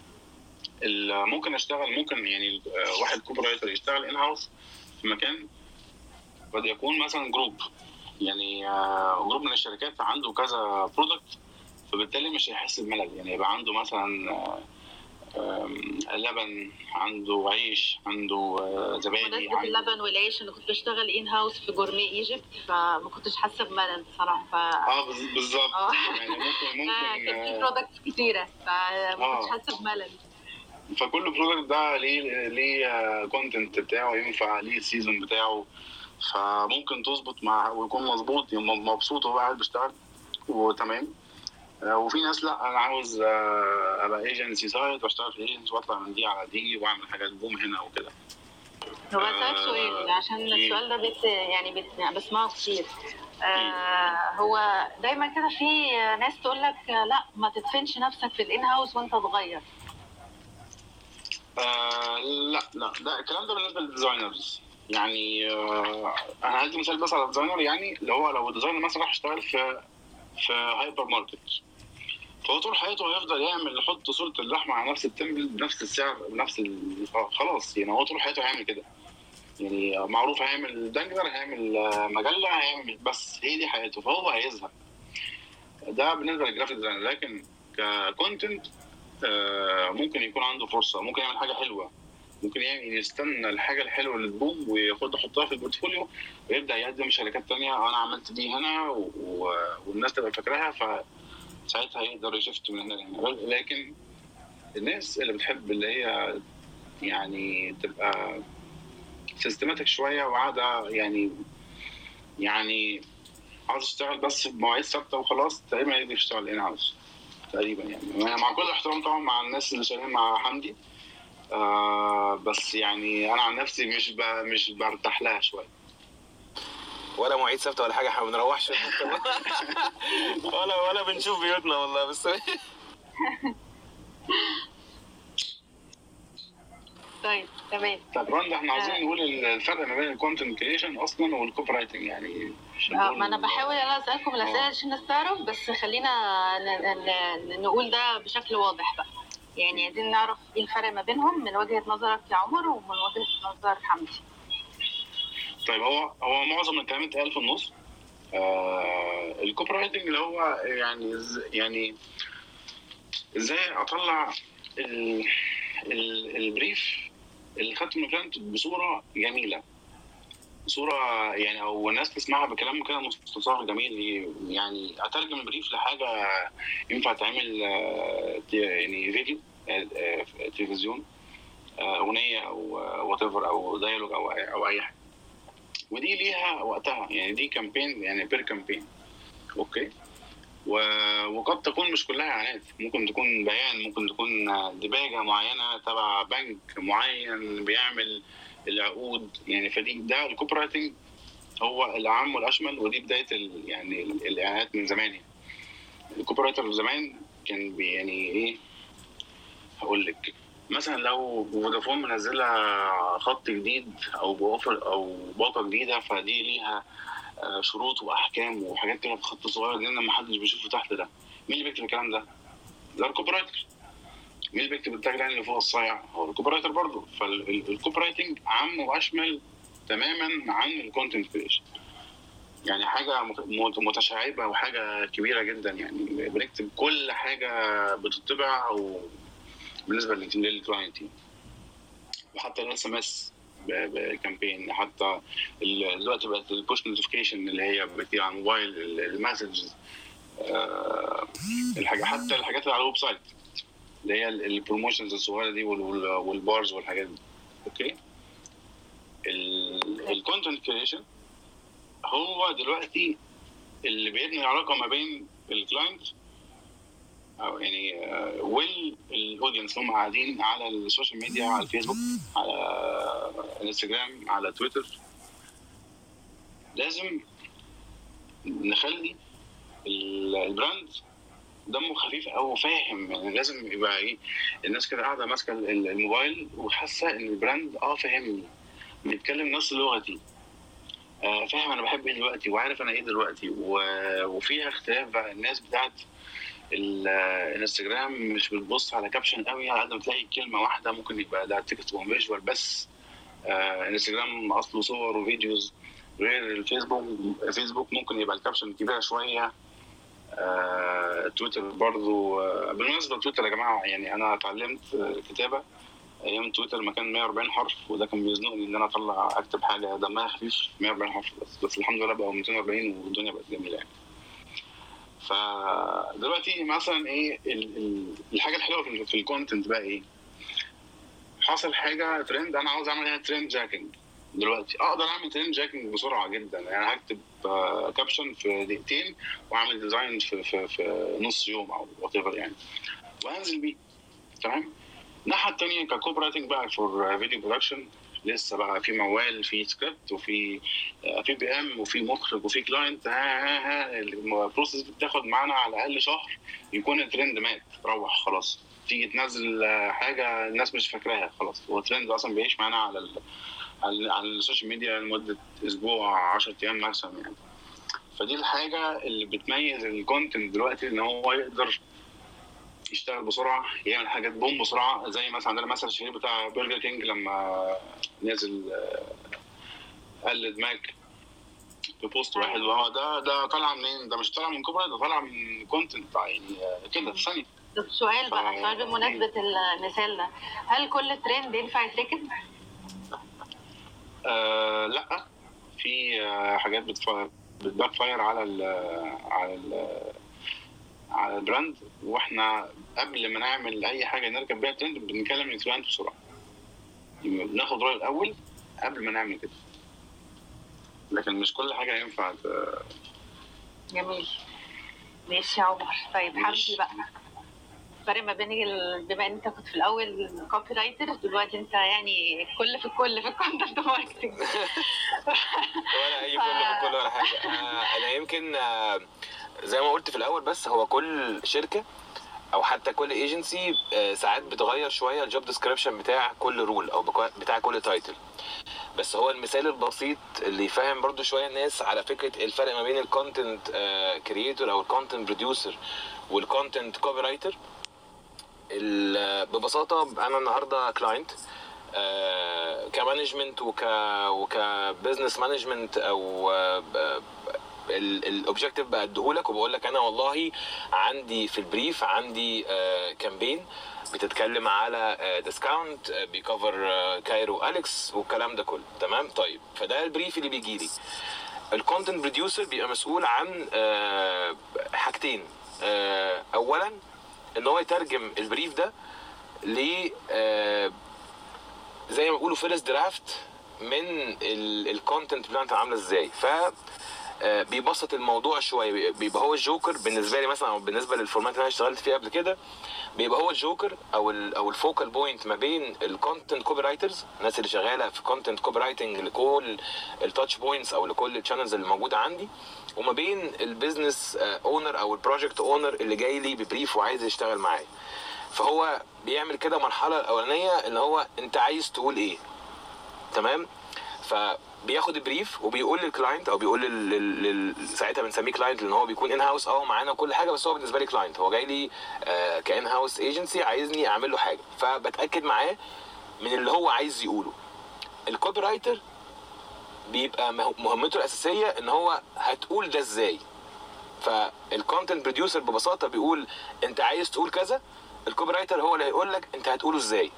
ال- ممكن اشتغل ممكن يعني آه، واحد كوبي رايتر يشتغل ان هاوس في مكان قد يكون مثلا جروب، يعني آه، جروب من الشركات عنده كذا برودكت، فبالتالي مش هيحس بملل. يعني يبقى عنده مثلا آه، آم، لبن، عنده عيش، عنده آه، زبادي، بمناسبة عنده اللبن والعيش، انا كنت بشتغل ان هاوس في جورمي ايجيبت، فما كنتش حاسه بملل بصراحه. ف اه بز- بالظبط. اه يعني ممكن آه، ممكن كان في آه، برودكتس كتيره فما كنتش اه حاسه بملل. فكل برودكت ده ليه ليه كونتنت بتاعه، ينفع ليه السيزون بتاعه، فممكن تظبط مع ويكون مظبوط، يبقى مبسوط وهو قاعد بيشتغل وتمام. آه، وفي ناس لا، انا عاوز آه، ابقى ايجنسي سايد واشتغل في ايجنسي واطلع من دي على دي واعمل حاجات بوم هنا وكده. هو اسالك سؤال آه، عشان مم. السؤال ده بت يعني بت يعني بسمعه كتير. آه هو دايما كده في ناس تقول لك لا ما تدفنش نفسك في الان هاوس وانت صغير. آه لا لا، ده الكلام ده بالنسبه للديزاينرز. يعني آه انا هدي مثال بس على الديزاينر، يعني اللي هو لو الديزاينر مثلا راح يشتغل في في هايبر ماركت، فهو طول حياته هيفضل يعمل يحط صورة اللحمة على نفس التمبل بنفس السعر بنفس ال... خلاص. يعني هو طول حياته هيعمل كده، يعني معروف هيعمل دنجر، هيعمل آه، مجلة، هيعمل، بس هي دي حياته، فهو هيزهق. ده بالنسبة للجرافيك ديزاين. لكن ككونتنت ممكن يكون عنده فرصة، ممكن يعمل حاجة حلوة، ممكن يعني يستنى الحاجة الحلوة اللي تبوم وياخدها يحطها في البورتفوليو ويبدأ يقدم شركات تانية، أنا عملت دي هنا و... و... والناس تبقى فاكراها، فساعتها يقدر يشفت من هنا لهنا. لكن الناس اللي بتحب اللي هي يعني تبقى سيستماتيك شويه وقاعده يعني يعني عاوز تشتغل بس بمواعيد ثابته وخلاص، تقريبا يقدر يشتغل ان هاوس تقريبا. يعني مع كل احترام طبعا مع الناس اللي شغالين مع حمدي، آه بس يعني انا عن نفسي مش ب... مش برتاح لها شويه. ولا مواعيد ثابته ولا حاجه، احنا ما بنروحش ولا ولا بنشوف بيوتنا والله. بس طيب تمام. طب رندا، احنا عايزين آه. نقول الفرق ما بين الكونتنت كريشن اصلا والكوبي رايتنج يعني. آه ما انا بحاول انا اسالكم الاسئله عشان الناس تعرف، بس خلينا ن- ن- نقول ده بشكل واضح بقى. يعني عايزين نعرف ايه الفرق ما بينهم من وجهه نظرك يا عمر ومن وجهه نظر حمدي. طيب هو هو معظم الكلام اتقال في النص. آه الكوبي رايتنج اللي هو يعني يعني ازاي اطلع ال ال البريف اللي خدته من كلام بصوره جميله، صوره يعني او الناس تسمعها بكلام كده مستطاع جميل. يعني اترجم البريف لحاجه ينفع تعمل آه، يعني فيديو، آه، تلفزيون، آه، اغنيه او وات ايفر او دايلوج او او اي حاجه. ودي ليها وقتها، يعني دي كامبين يعني بير كامبين. اوكي. و- وقد تكون مش كلها اعلانات، ممكن تكون بيان، ممكن تكون دباجه معينه تبع بنك معين بيعمل العقود يعني. فدي ده الكوبي رايتنج هو العام والاشمل، ودي بدايه ال يعني ال- الاعلانات من زمان. يعني الكوبي رايتر زمان كان بي يعني ايه، هقول لك مثلا لو فودافون منزله خط جديد او بوفر او باقه جديده، فدي ليها آه، شروط واحكام وحاجات كده في خط صغير جدا ما حدش بيشوفه تحت ده. مين اللي بيكتب الكلام ده؟ ده الكوبي رايتر. مين اللي بيكتب التاج لاين اللي فوق الصايع؟ هو الكوبي رايتر برضه. فالكوبي رايتنج عام واشمل تماما عن الكونتنت كريشن. يعني حاجه مت- متشعبه وحاجه كبيره جدا، يعني بنكتب كل حاجه بتطبع او بالنسبه للكلاينت. وحتى الاس ام اس بكامبين، حتى ال- دلوقتي بقت البوش نوتيفيكيشن اللي هي بتيجي على الموبايل، المسجز، الحاجه، حتى الحاجات اللي على الويب سايت اللي هي البروموشنز الصغيره دي وال- وال- والبارز والحاجات دي. اوكي. الكونتنت كريشن هو دلوقتي اللي بيبني العلاقه ما بين الكلاينت او يعني والاودينس هم قاعدين على السوشيال ميديا، على الفيسبوك، على الانستجرام، على تويتر. لازم نخلي البراند دمه خفيف او فاهم. يعني لازم يبقى ايه، الناس كده قاعده ماسكه الموبايل وحاسه ان البراند اه فاهمني، بيتكلم نفس لغتي، آه فاهم انا بحب ايه دلوقتي وعارف انا ايه دلوقتي. وفيها اختلاف بقى. الناس بتاعت الانستجرام مش بتبص على كابشن قوي على قد ما تلاقي كلمه واحده، ممكن يبقى ده تكست وفيجوال بس. آه انستجرام اصله صور وفيديوز، غير الفيسبوك. فيسبوك ممكن يبقى الكابشن كبيره شويه. آه، تويتر برضو. آه، بالمناسبه تويتر يا جماعه، يعني انا اتعلمت آه، كتابه ايام تويتر ما كان مية وأربعين حرف، وده كان بيزنقني ان انا اطلع اكتب حاجه دمها خفيف مية وأربعين حرف بس. بس الحمد لله بقوا مئتين وأربعين والدنيا بقت جميله يعني. فدلوقتي مثلا ايه ال- ال- الحاجه الحلوه في في الكونتنت بقى ايه؟ حصل حاجه ترند انا عاوز اعمل عليها ترند جاكينج. دلوقتي اقدر اعمل ترند جاكينج بسرعه جدا. يعني هكتب آه، كابشن في دقيقتين واعمل ديزاين في في في نص يوم او وات ايفر يعني، وانزل بيه. تمام. الناحيه الثانيه ككوب رايتنج بقى فور فيديو برودكشن، لسه بقى في موال، في سكريبت، وفي آه، في بي ام، وفي مخرج، وفي كلاينت. ها ها ها البروسيس دي بتاخد معانا على الاقل شهر يكون الترند مات روح خلاص. تيجي تنزل آه، حاجه الناس مش فاكراها خلاص. هو الترند اصلا بيعيش معانا على ال على على السوشيال ميديا لمده اسبوع عشرة ايام ماكسيمم يعني. فدي الحاجه اللي بتميز الكونتنت دلوقتي، ان هو يقدر يشتغل بسرعه، يعمل حاجات بوم بسرعه. زي مثلا عندنا مثلا الشهير بتاع برجر كينج لما نزل آه، قلد ماك في بوست واحد، وهو ده ده طالع منين؟ ده مش طالع من كوبري، ده طالع من كونتنت يعني آه، كده في ثانيه. طب سؤال بقى، ف- سؤال بمناسبة المثال ده، هل كل ترند ينفع يتركب؟ آه لا، في آه حاجات بتف- بتباك فاير على ال على ال على البراند. واحنا قبل ما نعمل اي حاجه نركب بيها ترند بنكلم الكلاينت بسرعه، يعني بناخد رايه الاول قبل ما نعمل كده. لكن مش كل حاجه ينفع ت- جميل. ماشي يا عمر. طيب ماشي. حمدي بقى، الفرق ما بين ال... بما ان انت كنت في الاول كوبي رايتر، دلوقتي انت يعني كل في الكل في الكونتنت ماركتنج. ولا اي كل في كل ولا حاجه. آه، انا يمكن آه، زي ما قلت في الاول، بس هو كل شركه او حتى كل ايجنسي ساعات بتغير شويه الجوب ديسكريبشن بتاع كل رول او بكو- بتاع كل تايتل. بس هو المثال البسيط اللي يفهم برضو شويه الناس على فكره الفرق ما بين الكونتنت كرييتور او الكونتنت بروديوسر والكونتنت كوبي رايتر. ببساطه انا النهارده كلاينت كمانجمنت وك وكبزنس مانجمنت، او الاوبجيكتيف بديهولك وبقول لك انا والله عندي في البريف عندي كامبين بتتكلم على ديسكاونت بيكفر كايرو اليكس والكلام ده كله. تمام. طيب فده البريف اللي بيجي لي. الكونتنت بروديوسر بيبقى مسؤول عن آه، حاجتين. آه، اولا ان هو يترجم البريف ده ل آه، زي ما بيقولوا فيرست درافت من الكونتنت بلان عامله ازاي. ف آه بيبسط الموضوع شويه، بيبقى هو الجوكر بالنسبه لي مثلا، او بالنسبه للفورمات اللي انا اشتغلت فيها قبل كده، بيبقى هو الجوكر او ال او الفوكال بوينت ما بين الكونتنت كوبي رايترز، الناس اللي شغاله في كونتنت كوبي رايتنج لكل التاتش بوينتس او لكل الشانلز اللي موجوده عندي، وما بين البيزنس اونر او البروجكت اونر اللي جاي لي ببريف وعايز يشتغل معايا. فهو بيعمل كده مرحله الاولانيه اللي هو انت عايز تقول ايه، تمام؟ فبياخد البريف وبيقول للكلاينت او بيقول لل... لل... ساعتها بنسميه كلاينت لان هو بيكون ان هاوس اه معانا وكل حاجه، بس هو بالنسبه لي كلاينت، هو جاي لي آه كان هاوس ايجنسي عايزني اعمل له حاجه، فبتاكد معاه من اللي هو عايز يقوله. الكوبي رايتر بيبقى مهمته الاساسيه ان هو هتقول ده ازاي. فالكونتنت بروديوسر ببساطه بيقول انت عايز تقول كذا، الكوبي رايتر هو اللي هيقول لك انت هتقوله ازاي.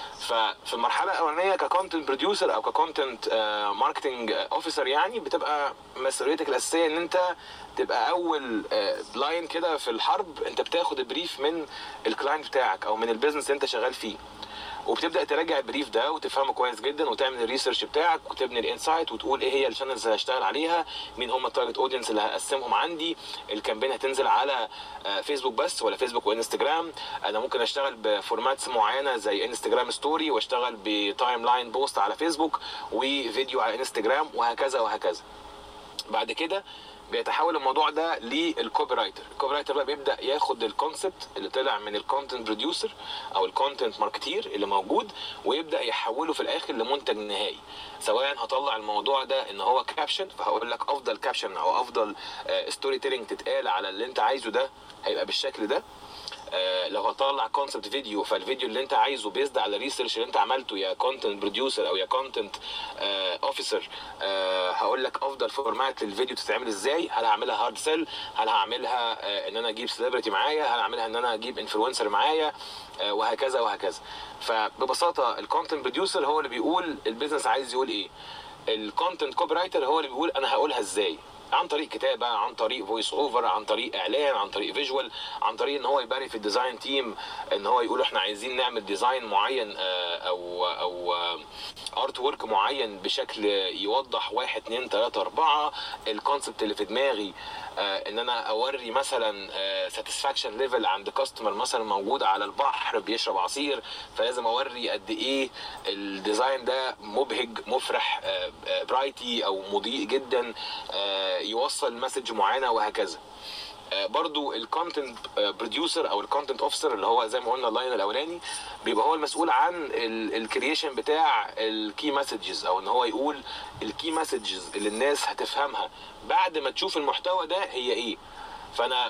ففي المرحله الاولانيه ككونتنت بروديوسر او ككونتنت ماركتنج اوفيسر يعني بتبقى مسؤوليتك الاساسيه ان انت تبقى اول لاين كده في الحرب، انت بتاخد البريف من الكلاينت بتاعك او من البيزنس اللي انت شغال فيه، وبتبدا تراجع البريف ده وتفهمه كويس جدا وتعمل الريسيرش بتاعك وتبني الانسايت وتقول ايه هي الشانلز اللي هشتغل عليها، مين هم التارجت اودينس اللي هقسمهم عندي، الكامبين هتنزل على فيسبوك بس ولا فيسبوك وانستجرام، انا ممكن اشتغل بفورماتس معينه زي انستجرام ستوري واشتغل بتايم لاين بوست على فيسبوك وفيديو على انستجرام وهكذا وهكذا. بعد كده بيتحول الموضوع ده للكوبي رايتر. الكوبي رايتر بقى بيبدا ياخد الكونسبت اللي طلع من الكونتنت بروديوسر او الكونتنت ماركتير اللي موجود ويبدا يحوله في الاخر لمنتج نهائي، سواء هطلع الموضوع ده ان هو كابشن، فهقول لك افضل كابشن او افضل ستوري تيلينج تتقال على اللي انت عايزه ده هيبقى بالشكل ده. آه لو هطلع كونسبت فيديو، فالفيديو اللي انت عايزه بيزد على الريسيرش اللي انت عملته يا كونتنت بروديوسر او يا كونتنت اوفيسر، آه هقول لك افضل فورمات للفيديو تتعمل ازاي، هل هعملها هارد سيل، هل هعملها آه ان انا اجيب سيلبرتي معايا، هل هعملها ان انا اجيب انفلونسر معايا، آه وهكذا وهكذا. فببساطه الكونتنت بروديوسر هو اللي بيقول البيزنس عايز يقول ايه، الكونتنت كوبي رايتر هو اللي بيقول انا هقولها ازاي، عن طريق كتابه، عن طريق فويس اوفر، عن طريق اعلان، عن طريق فيجوال، عن طريق ان هو يباري في الديزاين تيم ان هو يقول احنا عايزين نعمل ديزاين معين او او ارت ورك معين بشكل يوضح واحد اتنين تلاته اربعه الكونسبت اللي في دماغي، ان انا اوري مثلا ساتسفاكشن ليفل عند كاستمر مثلا موجود على البحر بيشرب عصير، فلازم اوري قد ايه الديزاين ده مبهج مفرح برايتي او مضيء جدا يوصل مسج معينه وهكذا. برضو الكونتنت بروديوسر او الكونتنت اوفيسر اللي هو زي ما قلنا اللاين الاولاني بيبقى هو المسؤول عن الكرييشن بتاع الكي مسجز، او ان هو يقول الكي مسجز اللي الناس هتفهمها بعد ما تشوف المحتوى ده هي ايه. فانا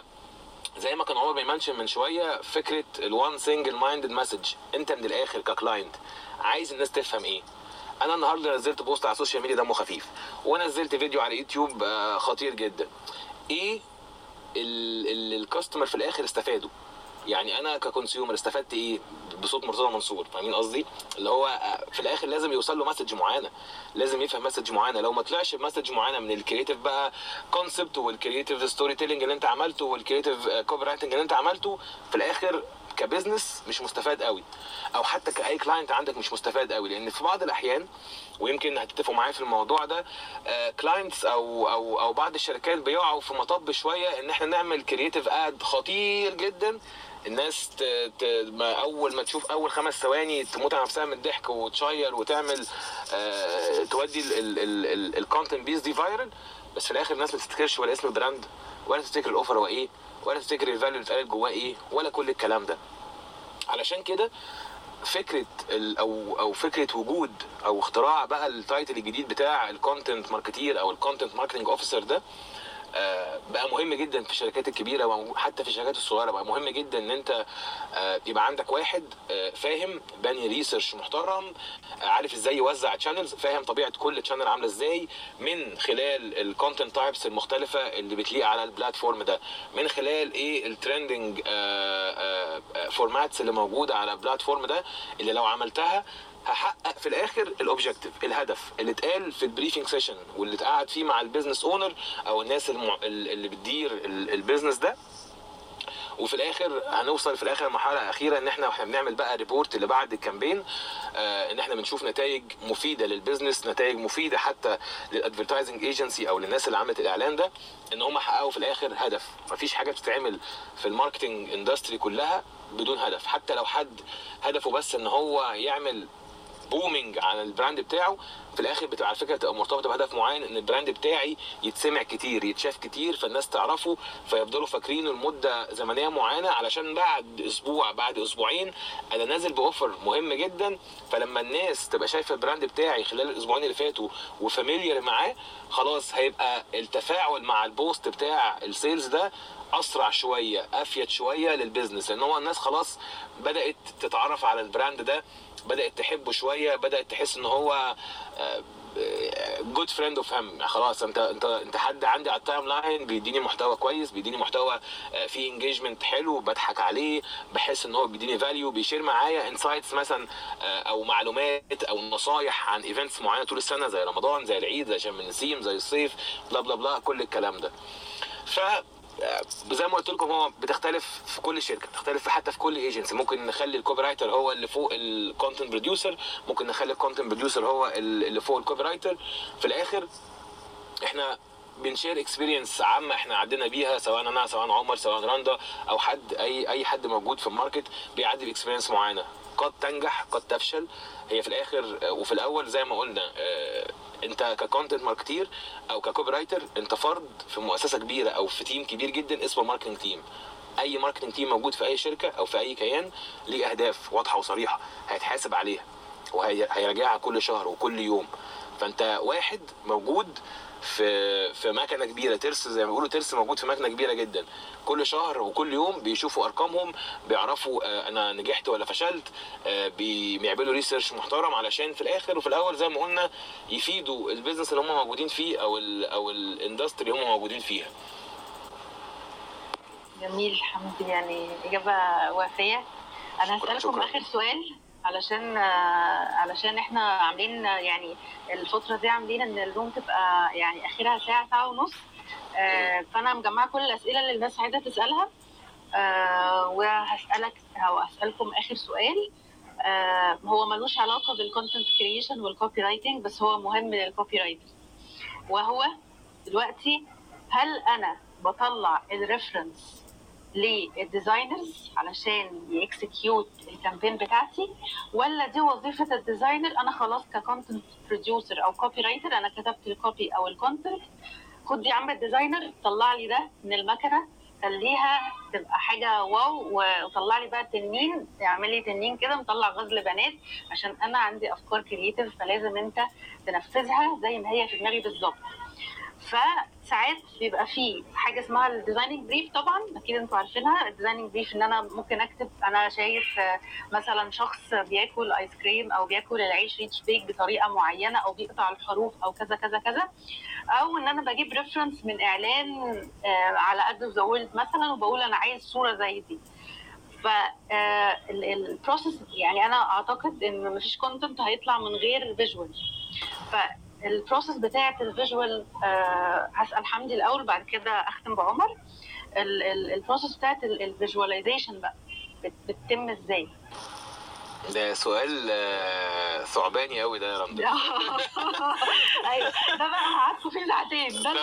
زي ما كان عمر بيمنشن من شويه فكره الوان سنجل مايندد مسج، انت من الاخر ككلاينت عايز الناس تفهم ايه. انا النهارده نزلت بوست على السوشيال ميديا دمه خفيف، ونزلت فيديو على يوتيوب خطير جدا، ايه الكاستمر في الاخر استفادوا؟ يعني انا ككونسيومر استفدت ايه بصوت مرتضى منصور؟ فاهمين قصدي؟ اللي هو في الاخر لازم يوصل له مسج معينه، لازم يفهم مسج معينه. لو ما طلعش بمسج معينه من الكرييتيف بقى كونسبت والكرييتيف ستوري تيلينج اللي انت عملته والكرييتيف كوبي رايتنج اللي انت عملته، في الاخر كبزنس مش مستفاد قوي، او حتى كاي كلاينت عندك مش مستفاد قوي. لان في بعض الاحيان، ويمكن هتتفقوا معايا في الموضوع ده، كلاينتس او او او بعض الشركات بيقعوا في مطب شويه ان احنا نعمل كرييتيف اد خطير جدا، الناس ت... ت... ما اول ما تشوف اول خمس ثواني تموت على نفسها من الضحك وتشير وتعمل آه... تودي الكونتنت بيس دي فايرل، بس في الاخر الناس ما تفتكرش ولا اسم البراند، ولا تفتكر الاوفر هو ايه، ولا تفتكر الفاليو اللي اتقالت جواه ايه، ولا كل الكلام ده. علشان كده فكره او او فكره وجود او اختراع بقى التايتل الجديد بتاع الكونتنت ماركتير او الكونتنت ماركتنج اوفيسر ده بقى مهم جدا في الشركات الكبيره وحتى في الشركات الصغيره. بقى مهم جدا ان انت يبقى عندك واحد فاهم باني ريسيرش محترم، عارف ازاي يوزع تشانلز، فاهم طبيعه كل تشانل عامله ازاي من خلال الكونتنت تايبس المختلفه اللي بتليق على البلاتفورم ده، من خلال ايه الترندنج فورماتس اللي موجوده على البلاتفورم ده، اللي لو عملتها هحقق في الاخر الاوبجكتيف، الهدف اللي اتقال في البريفنج سيشن واللي اتقعد فيه مع البيزنس اونر او الناس المع... اللي بتدير البيزنس ده، وفي الاخر هنوصل في الاخر مرحله اخيره ان احنا واحنا بنعمل بقى ريبورت اللي بعد الكامبين آه ان احنا بنشوف نتائج مفيده للبيزنس، نتائج مفيده حتى للادفرتايزنج ايجنسي او للناس اللي عملت الاعلان ده، ان هم حققوا في الاخر هدف. مفيش حاجه بتتعمل في الماركتنج اندستري كلها بدون هدف، حتى لو حد هدفه بس ان هو يعمل بومينج على البراند بتاعه، في الاخر بتبقى على فكره تبقى مرتبطه بهدف معين، ان البراند بتاعي يتسمع كتير، يتشاف كتير، فالناس تعرفه، فيفضلوا فاكرينه لمده زمنيه معينه، علشان بعد اسبوع بعد اسبوعين انا نازل باوفر مهم جدا، فلما الناس تبقى شايفه البراند بتاعي خلال الاسبوعين اللي فاتوا وفاميليار معاه، خلاص هيبقى التفاعل مع البوست بتاع السيلز ده اسرع شويه، افيد شويه للبيزنس، لان هو الناس خلاص بدات تتعرف على البراند ده، بدات تحبه شويه، بدات تحس ان هو جود فريند اوف هيم. خلاص انت انت انت حد عندي على التايم لاين بيديني محتوى كويس، بيديني محتوى فيه انجيجمنت حلو، بضحك عليه، بحس ان هو بيديني فاليو، بيشير معايا انسايتس مثلا او معلومات او نصايح عن ايفنتس معينه طول السنه، زي رمضان، زي العيد، زي شم النسيم، زي الصيف، بلا بلا بلا، كل الكلام ده. ف زي ما قلت لكم هو بتختلف في كل شركه، بتختلف حتى في كل ايجنسي. ممكن نخلي الكوبي رايتر هو اللي فوق الكونتنت بروديوسر، ممكن نخلي الكونتنت بروديوسر هو اللي فوق الكوبي رايتر. في الاخر احنا بنشير اكسبيرينس عامه احنا عدينا بيها، سواء انا سواء عمر سواء رندا او حد اي اي حد موجود في الماركت بيعدي باكسبيرينس معينه، قد تنجح قد تفشل. هي في الاخر وفي الاول زي ما قلنا اه انت ككونتنت ماركتير او ككوبي رايتر انت فرد في مؤسسه كبيره او في تيم كبير جدا اسمه ماركتنج تيم. اي ماركتنج تيم موجود في اي شركه او في اي كيان ليه اهداف واضحه وصريحه هيتحاسب عليها وهيراجعها كل شهر وكل يوم. فانت واحد موجود في في مكنه كبيره، ترس زي ما بيقولوا، ترس موجود في مكنه كبيره جدا، كل شهر وكل يوم بيشوفوا ارقامهم، بيعرفوا انا نجحت ولا فشلت، بيعملوا ريسيرش محترم علشان في الاخر وفي الاول زي ما قلنا يفيدوا البيزنس اللي هم موجودين فيه او ال او الاندستري اللي هم موجودين فيها. جميل حمدي، يعني اجابه وافيه. انا هسالكم اخر سؤال علشان علشان احنا عاملين يعني الفتره دي عاملين ان الروم تبقى يعني اخرها ساعه ساعه ونص، فانا مجمعه كل الاسئله اللي الناس عايزه تسالها، وهسالك او اسالكم اخر سؤال هو ملوش علاقه بالكونتنت كرييشن والكوبي رايتنج، بس هو مهم للكوبي رايتر، وهو دلوقتي هل انا بطلع الريفرنس للديزاينرز علشان يكسكيوت الكامبين بتاعتي، ولا دي وظيفه الديزاينر؟ انا خلاص ككونتنت بروديوسر او كوبي رايتر انا كتبت الكوبي او الكونتنت، خد يا عم الديزاينر طلع لي ده من المكنه، خليها تبقى حاجه واو، وطلع لي بقى التنين، اعمل لي تنين كده مطلع غزل بنات، عشان انا عندي افكار كرييتيف فلازم انت تنفذها زي ما هي في دماغي بالظبط. فساعات بيبقى فيه حاجه اسمها الديزايننج بريف، طبعا اكيد انتوا عارفينها. الديزايننج بريف ان انا ممكن اكتب انا شايف مثلا شخص بياكل ايس كريم او بياكل العيش ريتش بيك بطريقه معينه او بيقطع الحروف او كذا كذا كذا، او ان انا بجيب ريفرنس من اعلان على قد ذا وورلد مثلا وبقول انا عايز صوره زي دي. فالبروسيس يعني انا اعتقد ان مفيش كونتنت هيطلع من غير فيجوال. ف البروسيس بتاعه الفيجوال أه هسال حمدي الاول بعد كده اختم بعمر. البروسيس بتاعه الفيجواليزيشن بقى بتتم ازاي؟ ده سؤال ثعباني قوي ده يا رندا. ايوه ده بقى هقعدكم فيه ساعتين. ده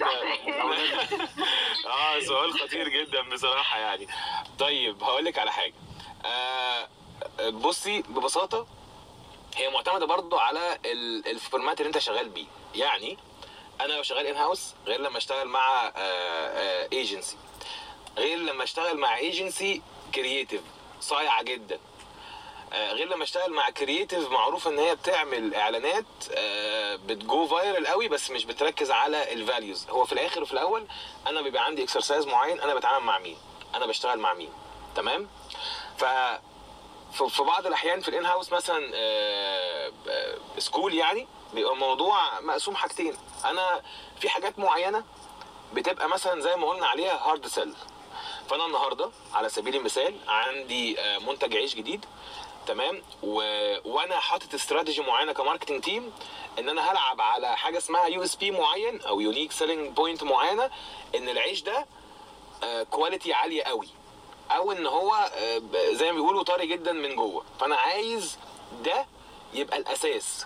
اه سؤال خطير جدا بصراحه يعني. طيب هقول لك على حاجه. آه بصي ببساطه هي معتمده برضو على الفورمات اللي انت شغال بيه. يعني انا لو شغال ان هاوس غير لما اشتغل مع ايجنسي، غير لما اشتغل مع ايجنسي كرييتيف صايعه جدا، غير لما اشتغل مع كرييتيف معروف ان هي بتعمل اعلانات بتجو فايرال قوي بس مش بتركز على الفاليوز. هو في الاخر وفي الاول انا بيبقى عندي اكسرسايز معين، انا بتعامل مع مين، انا بشتغل مع مين، تمام؟ ف في بعض الاحيان في الان هاوس مثلا سكول يعني بيبقى الموضوع مقسوم حاجتين. انا في حاجات معينه بتبقى مثلا زي ما قلنا عليها هارد سيل. فانا النهارده على سبيل المثال عندي منتج عيش جديد، تمام، و... وانا حاطط استراتيجي معينه كماركتنج تيم ان انا هلعب على حاجه اسمها يو اس بي معين او يونيك سيلينج بوينت معينه، ان العيش ده كواليتي عاليه قوي، او ان هو زي ما بيقولوا طري جدا من جوه. فانا عايز ده يبقى الاساس.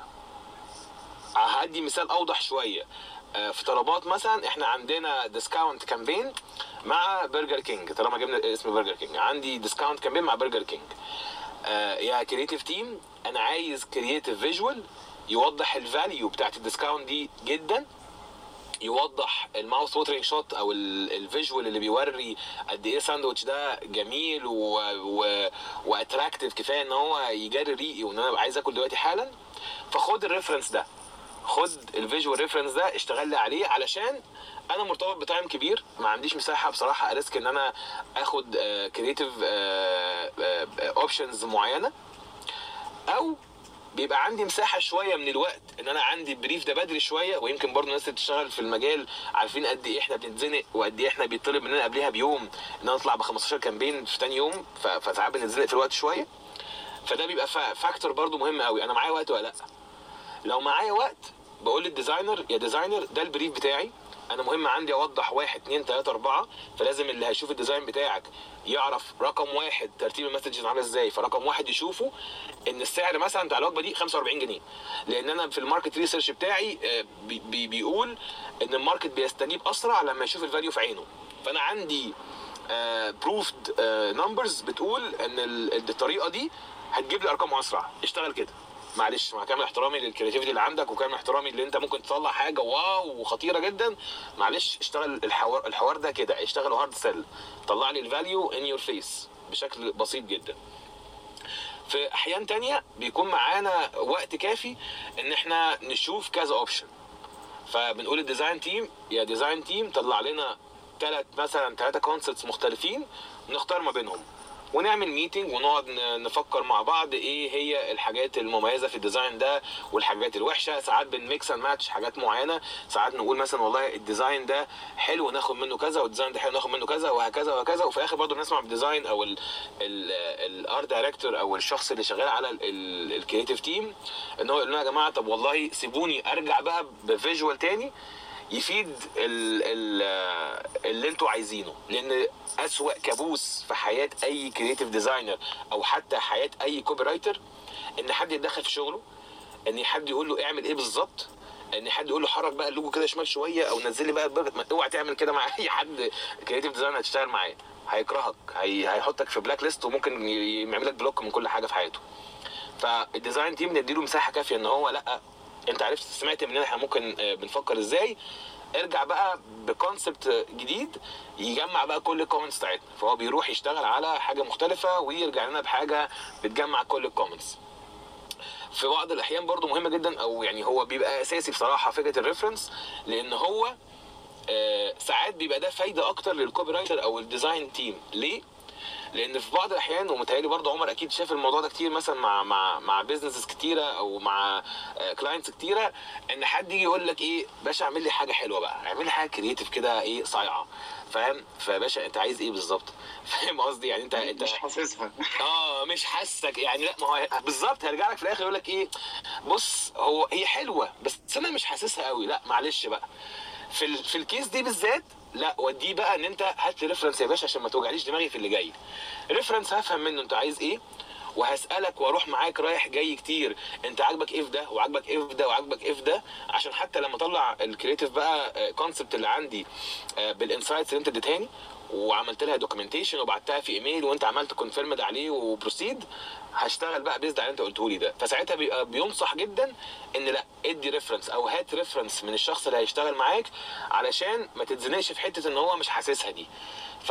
هدي مثال اوضح شويه. في طلبات مثلا احنا عندنا ديسكاونت كامبين مع برجر كينج، طالما جبنا اسم برجر كينج عندي ديسكاونت كامبين مع برجر كينج. آه يا كرييتيف تيم انا عايز كرييتيف فيجوال يوضح الفاليو بتاعت الديسكاونت دي جدا، يوضح الماوث ووترينج شوت او الفيجوال اللي بيوري قد ايه الساندوتش ده جميل و و واتراكتيف كفايه ان هو يجري ريقي وان انا عايز اكل دلوقتي حالا. فخد الريفرنس ده، خد الفيجوال ريفرنس ده اشتغل لي عليه، علشان انا مرتبط بتايم كبير ما عنديش مساحه بصراحه اريسك ان انا اخد كرييتيف اوبشنز معينه، او بيبقى عندي مساحه شويه من الوقت ان انا عندي بريف ده بدري شويه. ويمكن برضه الناس اللي بتشتغل في المجال عارفين قد ايه احنا بنتزنق وقد ايه احنا بيطلب مننا قبلها بيوم ان نطلع ب خمستاشر كامبين في تاني يوم، فساعات بنتزنق في الوقت شويه. فده بيبقى فاكتور برضه مهم قوي، انا معايا وقت ولا لا. لو معايا وقت بقول للديزاينر يا ديزاينر ده البريف بتاعي، انا مهم عندي اوضح واحد اتنين تلاته اربعه، فلازم اللي هيشوف الديزاين بتاعك يعرف رقم واحد ترتيب المسجز عامله ازاي. فرقم واحد يشوفه ان السعر مثلا بتاع الوجبه دي خمسة واربعين جنيه، لان انا في الماركت ريسيرش بتاعي بي بي بيقول ان الماركت بيستجيب اسرع لما يشوف الفاليو في عينه. فانا عندي بروفد نمبرز بتقول ان الطريقه دي هتجيب لي ارقام اسرع، اشتغل كده. معلش مع كامل احترامي للكرياتيفيتي اللي عندك وكامل احترامي اللي انت ممكن تطلع حاجه واو وخطيره جدا، معلش اشتغل الحوار الحوار ده كده، اشتغله هارد سيل، طلع لي الفاليو ان يور فيس بشكل بسيط جدا. في احيان تانية بيكون معانا وقت كافي ان احنا نشوف كذا اوبشن، فبنقول الديزاين تيم يا ديزاين تيم طلع لنا ثلاث مثلا ثلاثه كونسبتس مختلفين نختار ما بينهم، ونعمل ميتنج ونقعد نفكر مع بعض ايه هي الحاجات المميزه في الديزاين ده والحاجات الوحشه. ساعات بنميكس اند ماتش حاجات معينه، ساعات نقول مثلا والله الديزاين ده حلو ناخد منه كذا والديزاين ده حلو ناخد منه كذا وهكذا وهكذا. وفي الاخر برضه بنسمع بالديزاين او الارت دايركتور او الشخص اللي شغال على الكرييتيف تيم ان هو يقول لنا يا جماعه طب والله سيبوني ارجع بقى بفيجوال تاني يفيد ال ال اللي انتوا عايزينه. لان اسوأ كابوس في حياه اي كرييتيف ديزاينر او حتى حياه اي كوبي رايتر ان حد يتدخل في شغله، ان حد يقول له اعمل ايه بالظبط، ان حد يقول له حرك بقى اللوجو كده شمال شويه او نزل لي بقى البرجر. اوعى تعمل كده مع اي حد كرييتيف ديزاينر هتشتغل معاه، هيكرهك، هي هيحطك في بلاك ليست وممكن يعمل لك بلوك من كل حاجه في حياته. فالديزاين تيم نديله مساحه كافيه ان هو لا انت عرفت سمعت مننا احنا ممكن بنفكر ازاي، ارجع بقى بكونسبت جديد يجمع بقى كل الكومنتس بتاعتنا. فهو بيروح يشتغل على حاجه مختلفه ويرجع لنا بحاجه بتجمع كل الكومنتس. في بعض الاحيان برضو مهمه جدا او يعني هو بيبقى اساسي بصراحه فكره الريفرنس، لان هو آه ساعات بيبقى ده فايده اكتر للكوبي رايتر او الديزاين تيم. ليه؟ لان في بعض الاحيان ومتهيألي برضه عمر اكيد شاف الموضوع ده كتير مثلا مع مع مع بيزنسز كتيره او مع كلاينتس كتيره، ان حد يجي يقول لك ايه باشا اعمل لي حاجه حلوه بقى، اعمل لي حاجه كرييتيف كده ايه صايعه، فاهم؟ فباشا انت عايز ايه بالظبط؟ فاهم قصدي؟ يعني انت انت مش حاسسها اه مش حاسك يعني. لا ما هو بالظبط هيرجع لك في الاخر يقول لك ايه بص هو هي حلوه بس انا مش حاسسها قوي. لا معلش بقى في ال... في الكيس دي بالذات لا وديه بقى ان انت هات لي ريفرنس يا باشا عشان ما توجعليش دماغي في اللي جاي. ريفرنس هفهم منه انت عايز ايه وهسالك واروح معاك رايح جاي كتير انت عاجبك ايه في ده وعاجبك ايه في ده وعاجبك ايه في ده، عشان حتى لما اطلع الكرييتيف بقى كونسبت اللي عندي بالانسايتس اللي انت اديتهاني وعملت لها دوكيومنتيشن وبعتها في ايميل وانت عملت كونفيرمد عليه وبروسيد، هشتغل بقى بيزد على اللي انت قلته لي ده. فساعتها بيبقى بينصح جدا ان لا ادي ريفرنس او هات ريفرنس من الشخص اللي هيشتغل معاك علشان ما تتزنقش في حته ان هو مش حاسسها دي. ف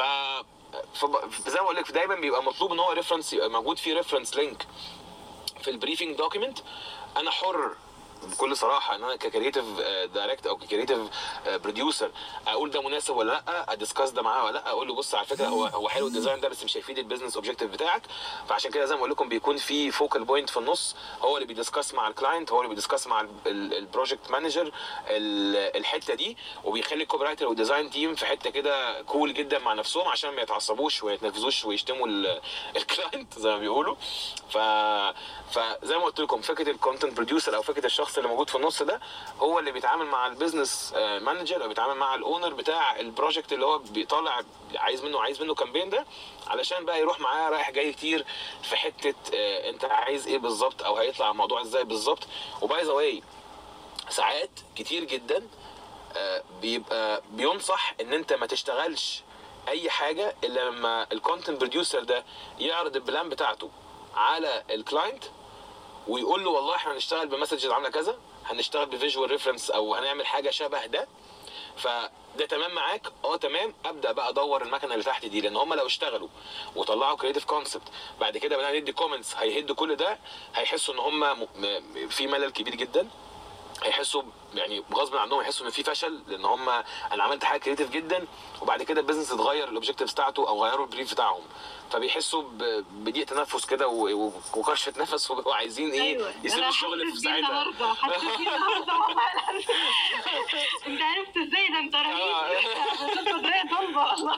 زي ما بقول لك دايما بيبقى مطلوب ان هو ريفرنس يبقى موجود فيه ريفرنس لينك في البريفنج دوكيمنت. انا حر بكل صراحه ان انا ككرييتيف دايركت او ككرييتيف بروديوسر اقول ده مناسب ولا لا، ادسكاس ده معاه ولا لا، اقول له بص على فكره هو هو حلو الديزاين ده بس مش هيفيد البيزنس اوبجيكتيف بتاعك. فعشان كده زي ما بقول لكم بيكون في فوكال بوينت في النص هو اللي بيدسكاس مع الكلاينت، هو اللي بيدسكاس مع البروجكت مانجر الحته دي، وبيخلي الكوبي رايتر والديزاين تيم في حته كده كول جدا مع نفسهم عشان ما يتعصبوش ويتنرفزوش ويشتموا الكلاينت زي ما بيقولوا. ف فزي ما قلت لكم فكره الكونتنت بروديوسر او فكره الشخص الشخص اللي موجود في النص ده هو اللي بيتعامل مع البيزنس مانجر او بيتعامل مع الاونر بتاع البروجكت اللي هو بيطلع عايز منه عايز منه كامبين ده، علشان بقى يروح معاه رايح جاي كتير في حته آه انت عايز ايه بالظبط او هيطلع الموضوع ازاي بالظبط. وباي ذا واي ساعات كتير جدا آه بيبقى بينصح ان انت ما تشتغلش اي حاجه الا لما الكونتنت بروديوسر ده يعرض البلان بتاعته على الكلاينت ويقول له والله احنا هنشتغل بمسجز عامله كذا، هنشتغل بفيجوال ريفرنس او هنعمل حاجه شبه ده، فده تمام معاك؟ اه تمام. ابدا بقى ادور المكنه اللي تحت دي، لان هم لو اشتغلوا وطلعوا كريتيف كونسبت بعد كده بدأنا ندي كومنتس هيهدوا كل ده، هيحسوا ان هم في ملل كبير جدا، هيحسوا يعني غصب عنهم يحسوا ان في فشل، لان هم انا عملت حاجه كريتيف جدا وبعد كده البيزنس اتغير الاوبجكتيفز بتاعته او غيروا البريف بتاعهم، فبيحسوا بضيق تنفس كده وكرشه نفس وعايزين ايه أيوة. يسيبوا الشغل في ساعتها. النهارده حاسه بيه النهارده انت عرفت ازاي ده؟ انت رهيب بطريقه طالبه والله.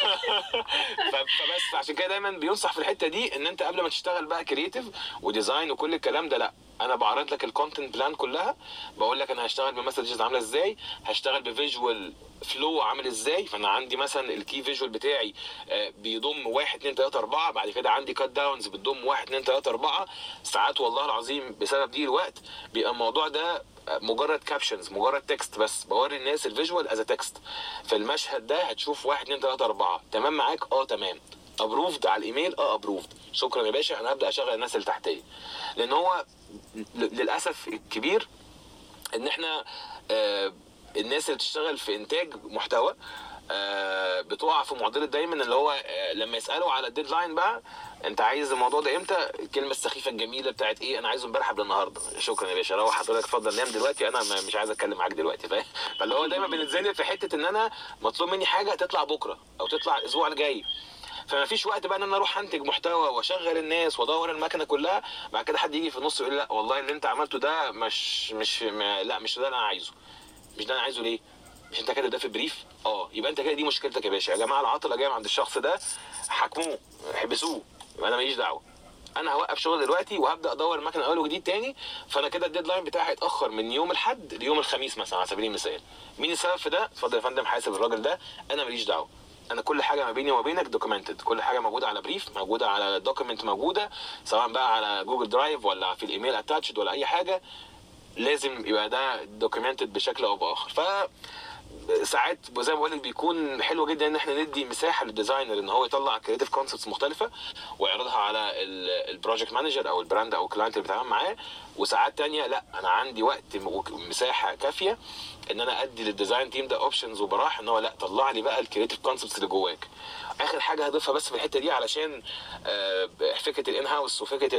فبس عشان كده دايما بينصح في الحته دي ان انت قبل ما تشتغل بقى كريتيف وديزاين وكل الكلام ده، لا انا بعرض لك الكونتنت بلان كلها، بقول لك انا هشتغل بمسجز عامله ازاي، هشتغل بفيجوال فلو عامل ازاي. فانا عندي مثلا الكي فيجوال بتاعي بيضم واحد اتنين تلاته اربعه، بعد كده عندي كات داونز بتضم واحد اتنين تلاته اربعه. ساعات والله العظيم بسبب دي الوقت بيبقى الموضوع ده مجرد كابشنز، مجرد تكست بس، بوري الناس الفيجوال از تكست. في المشهد ده هتشوف واحد اتنين تلاته اربعه، تمام معاك؟ اه تمام. ابروفد على الايميل؟ اه ابروفد، شكرا يا باشا، انا هبدا اشغل الناس اللي تحتيه. لان هو للاسف الكبير ان احنا آه الناس اللي بتشتغل في انتاج محتوى آه بتقع في معضله دايما اللي هو آه لما يسالوا على الديدلاين بقى انت عايز الموضوع ده امتى، الكلمه السخيفه الجميله بتاعت ايه انا عايزه امبارح قبل النهارده. شكرا يا باشا، روح حضرتك اتفضل نام دلوقتي، انا مش عايز اتكلم معاك دلوقتي، فاهم؟ فاللي هو دايما بنتزنق في حته ان انا مطلوب مني حاجه تطلع بكره او تطلع الاسبوع الجاي، فما فيش وقت بقى ان انا اروح انتج محتوى واشغل الناس وادور المكنه كلها، بعد كده حد يجي في النص يقول لي لا والله اللي انت عملته ده مش مش لا مش ده اللي انا عايزه. مش ده انا عايزه ليه؟ مش انت كده ده في بريف؟ اه يبقى انت كده دي مشكلتك يا باشا. يا جماعه العطله جايه عند الشخص ده، حاكموه احبسوه، انا ماليش دعوه، انا هوقف شغل دلوقتي وهبدا ادور المكنه اول وجديد تاني. فانا كده الديدلاين بتاعي هيتاخر من يوم الاحد ليوم الخميس مثلا على سبيل المثال. مين السبب في ده؟ اتفضل يا فندم حاسب الراجل ده، انا ماليش دعوه. انا كل حاجه ما بيني وما بينك دوكيومنتد، كل حاجه موجوده على بريف، موجوده على دوكيمنت، موجوده سواء بقى على جوجل درايف ولا في الايميل اتاتشد ولا اي حاجه، لازم يبقى ده دوكيومنتد بشكل او باخر. ف ساعات زي ما بقول لك بيكون حلو جدا ان احنا ندي مساحه للديزاينر ان هو يطلع كريتيف كونسبتس مختلفه ويعرضها على البروجكت مانجر او البراند او الكلاينت اللي بيتعامل معاه. وساعات تانية لا انا عندي وقت مساحه كافيه ان انا ادي للديزاين تيم ده اوبشنز وبراح ان هو لا طلع لي بقى الكريتيف كونسبتس اللي جواك. اخر حاجه هضيفها بس في الحته دي علشان فكره الان هاوس وفكره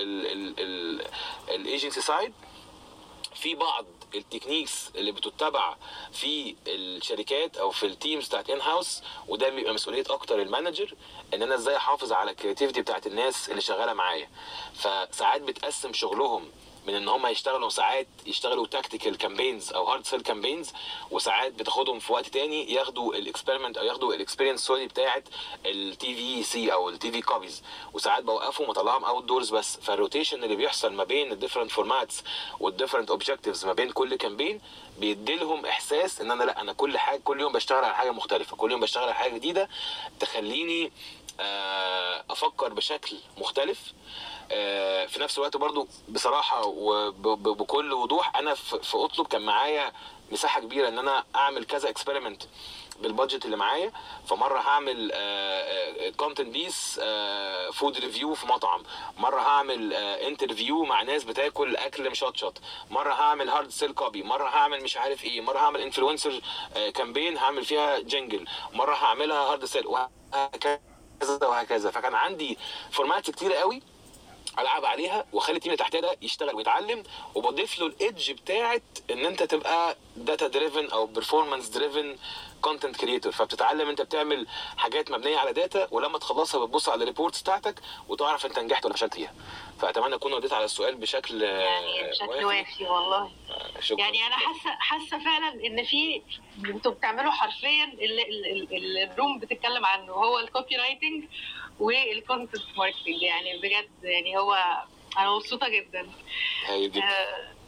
الايجنسي سايد، في بعض التكنيكس اللي بتتبع في الشركات او في التيمز بتاعت ان هاوس، وده بيبقى مسؤوليه اكتر المانجر ان انا ازاي احافظ على الكرياتيفيتي بتاعت الناس اللي شغاله معايا. فساعات بتقسم شغلهم من ان هم يشتغلوا ساعات يشتغلوا تاكتيكال كامبينز او هارد سيل كامبينز، وساعات بتاخدهم في وقت تاني ياخدوا الاكسبيرمنت او ياخدوا الاكسبيرينس سوري بتاعت التي في سي او التي في كوبيز، وساعات بوقفهم واطلعهم اوت دورز بس. فالروتيشن اللي بيحصل ما بين الديفرنت فورماتس والديفرنت اوبجكتيفز ما بين كل كامبين بيدي لهم احساس ان انا لا انا كل حاجه كل يوم بشتغل على حاجه مختلفه، كل يوم بشتغل على حاجه جديده تخليني افكر بشكل مختلف. في نفس الوقت برضو بصراحة وبكل وضوح انا في اطلب كان معايا مساحة كبيرة ان انا اعمل كذا اكسبيرمنت بالبادجت اللي معايا. فمرة هعمل كونتنت بيس فود ريفيو في مطعم، مرة هعمل انترفيو مع ناس بتاكل اكل مشطشط، مرة هعمل هارد سيل كوبي، مرة هعمل مش عارف ايه، مرة هعمل انفلونسر كامبين هعمل فيها جنجل، مرة هعملها هارد سيل، وهكذا وهكذا. فكان عندي فورمات كتير قوي العب عليها واخلي التيم اللي تحتيه ده يشتغل ويتعلم، وبضيف له الايدج بتاعت ان انت تبقى داتا دريفن او بيرفورمانس دريفن كونتنت كريتور. فبتتعلم انت بتعمل حاجات مبنيه على داتا، ولما تخلصها بتبص على الريبورتس بتاعتك وتعرف انت نجحت ولا فشلت فيها. فاتمنى اكون رديت على السؤال بشكل يعني بشكل وافي والله. شكرا. يعني انا حاسه حاسه فعلا ان في انتوا بتعملوا حرفيا اللي الروم بتتكلم عنه هو الكوبي رايتنج والكونتنت ماركتنج. يعني بجد يعني هو انا مبسوطه جدا. هاي جدا. آه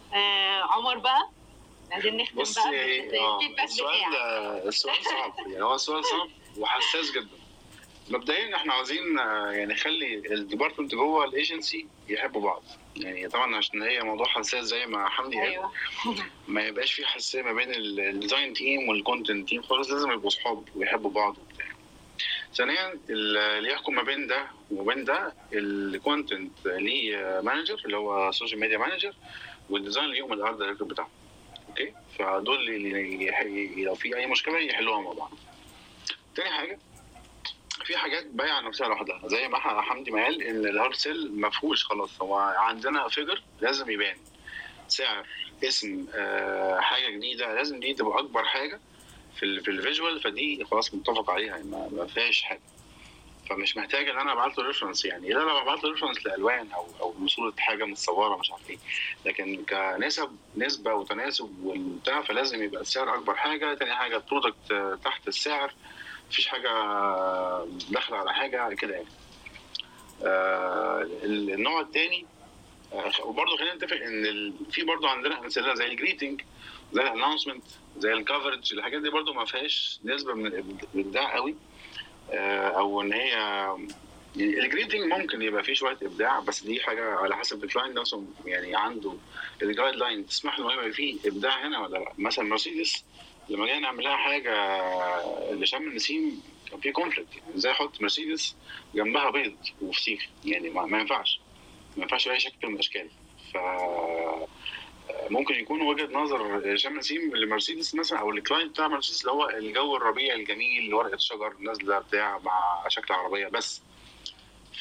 آه عمر بقى عايزين نختم بقى بص اه بالفيدباك السؤال بتاعك. ده السؤال صعب يعني هو السؤال صعب وحساس جدا. مبدئيا احنا عاوزين آه، يعني نخلي الديبارتمنت جوه الايجنسي يحبوا بعض. يعني طبعا عشان هي موضوع حساس زي ما حمدي قال، ايوه ما يبقاش في حساسيه ما بين الديزاين تيم والكونتنت تيم خالص، لازم يبقوا صحاب ويحبوا بعض وبتاع. ثانيا اللي يحكم ما بين ده وبين ده الكونتنت ليه مانجر اللي هو سوشيال ميديا مانجر، والديزاين ليهم الارت دايركتور بتاعهم. اوكي، فدول اللي يح- لو في اي مشكله يحلوها مع بعض. تاني حاجه، في حاجات بايعه نفسها لوحدها زي ما ح- حمدي ما قال ان الهارد سيل ما فيهوش خلاص، هو عندنا فيجر لازم يبان، سعر، اسم، آه، حاجه جديده، لازم دي تبقى اكبر حاجه في ال في الفيجوال، فدي خلاص متفق عليها ما, ما فيهاش حاجه. فمش محتاج ان انا ابعت له ريفرنس، يعني لا لا ببعت له ريفرنس لالوان او او صوره حاجه متصوره مش عارف ايه، لكن كنسب نسبه وتناسب والبتاع فلازم يبقى السعر اكبر حاجه. تاني حاجه البرودكت تحت السعر، مفيش حاجه داخله على حاجه كده يعني. آه النوع الثاني، آه وبرضه خلينا نتفق ان ال... في برضه عندنا امثله زي الجريتنج، زي الانونسمنت، زي الكفرج، الحاجات دي برضه ما فيهاش نسبه من الابداع قوي. آه او ان هي يعني الجريتنج ممكن يبقى فيه شويه ابداع، بس دي حاجه على حسب الكلاينت نفسه يعني عنده الجايد لاين تسمح له يبقى فيه ابداع هنا ولا لا. مثلا مرسيدس لما جينا نعمل لها حاجه لشم النسيم كان في كونفليكت، يعني ازاي احط مرسيدس جنبها بيض وفسيخ؟ يعني ما, ما ينفعش ما ينفعش باي شكل من الاشكال. ف ممكن يكون وجهه نظر شم النسيم لمرسيدس مثلا او الكلاينت بتاع مرسيدس اللي هو الجو الربيعي الجميل، ورقه شجر نازله بتاع مع شكل عربيه بس. ف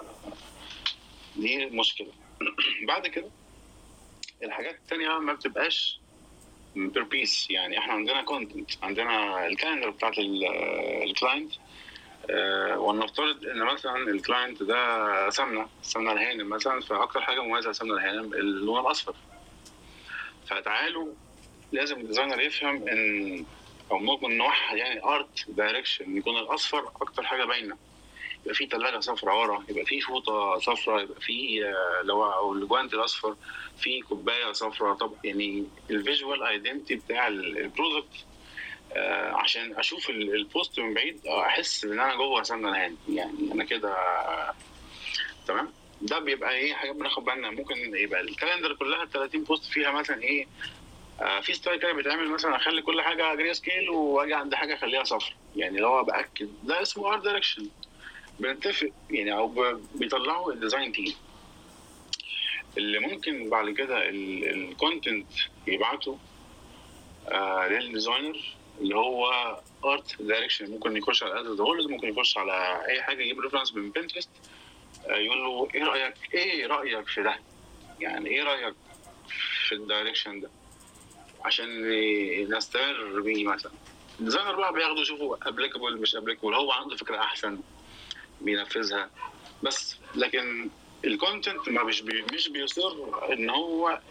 دي مشكله. بعد كده الحاجات التانية ما بتبقاش بير بيس، يعني احنا عندنا كونتنت، عندنا الكالندر بتاعت الكلاينت، أه ونفترض ان مثلا الكلاينت ده سمنه سمنه الهانم مثلا، فاكتر حاجه مميزه لسمنه الهانم اللون الاصفر. فتعالوا لازم الديزاينر يفهم ان او ممكن نوحد يعني ارت دايركشن يكون الاصفر اكتر حاجه باينه، يبقى في ثلاجه صفراء ورا، يبقى في فوطه صفراء، يبقى في لو او الجوانت الاصفر، في كوبايه صفراء. طب يعني الفيجوال ايدنتي بتاع البرودكت، آه عشان اشوف البوست من بعيد احس ان انا جوه سمنه الهان، يعني انا كده تمام. ده بيبقى ايه حاجه بناخد بالنا. ممكن يبقى الكالندر كلها ثلاثين بوست فيها مثلا ايه، آه في ستايل كده بيتعمل مثلا اخلي كل حاجه جري سكيل واجي عند حاجه اخليها صفر، يعني اللي هو باكد ده اسمه ارت دايركشن. بنتفق يعني او بيطلعوا الديزاين تيم اللي ممكن بعد كده الكونتنت يبعته آه للديزاينر اللي هو ارت دايركشن. ممكن يخش على ادز هولد، ممكن يخش على اي حاجه يجيب ريفرنس من بنترست، آه يقول له ايه رايك ايه رايك في ده، يعني ايه رايك في الدايركشن ده عشان نستمر بيه. مثلا الديزاينر بقى بياخده يشوفه ابليكابل مش ابليكابل، هو عنده فكره احسن بينفذها بس. لكن الكونتنت ما مش بي مش بيصر ان هو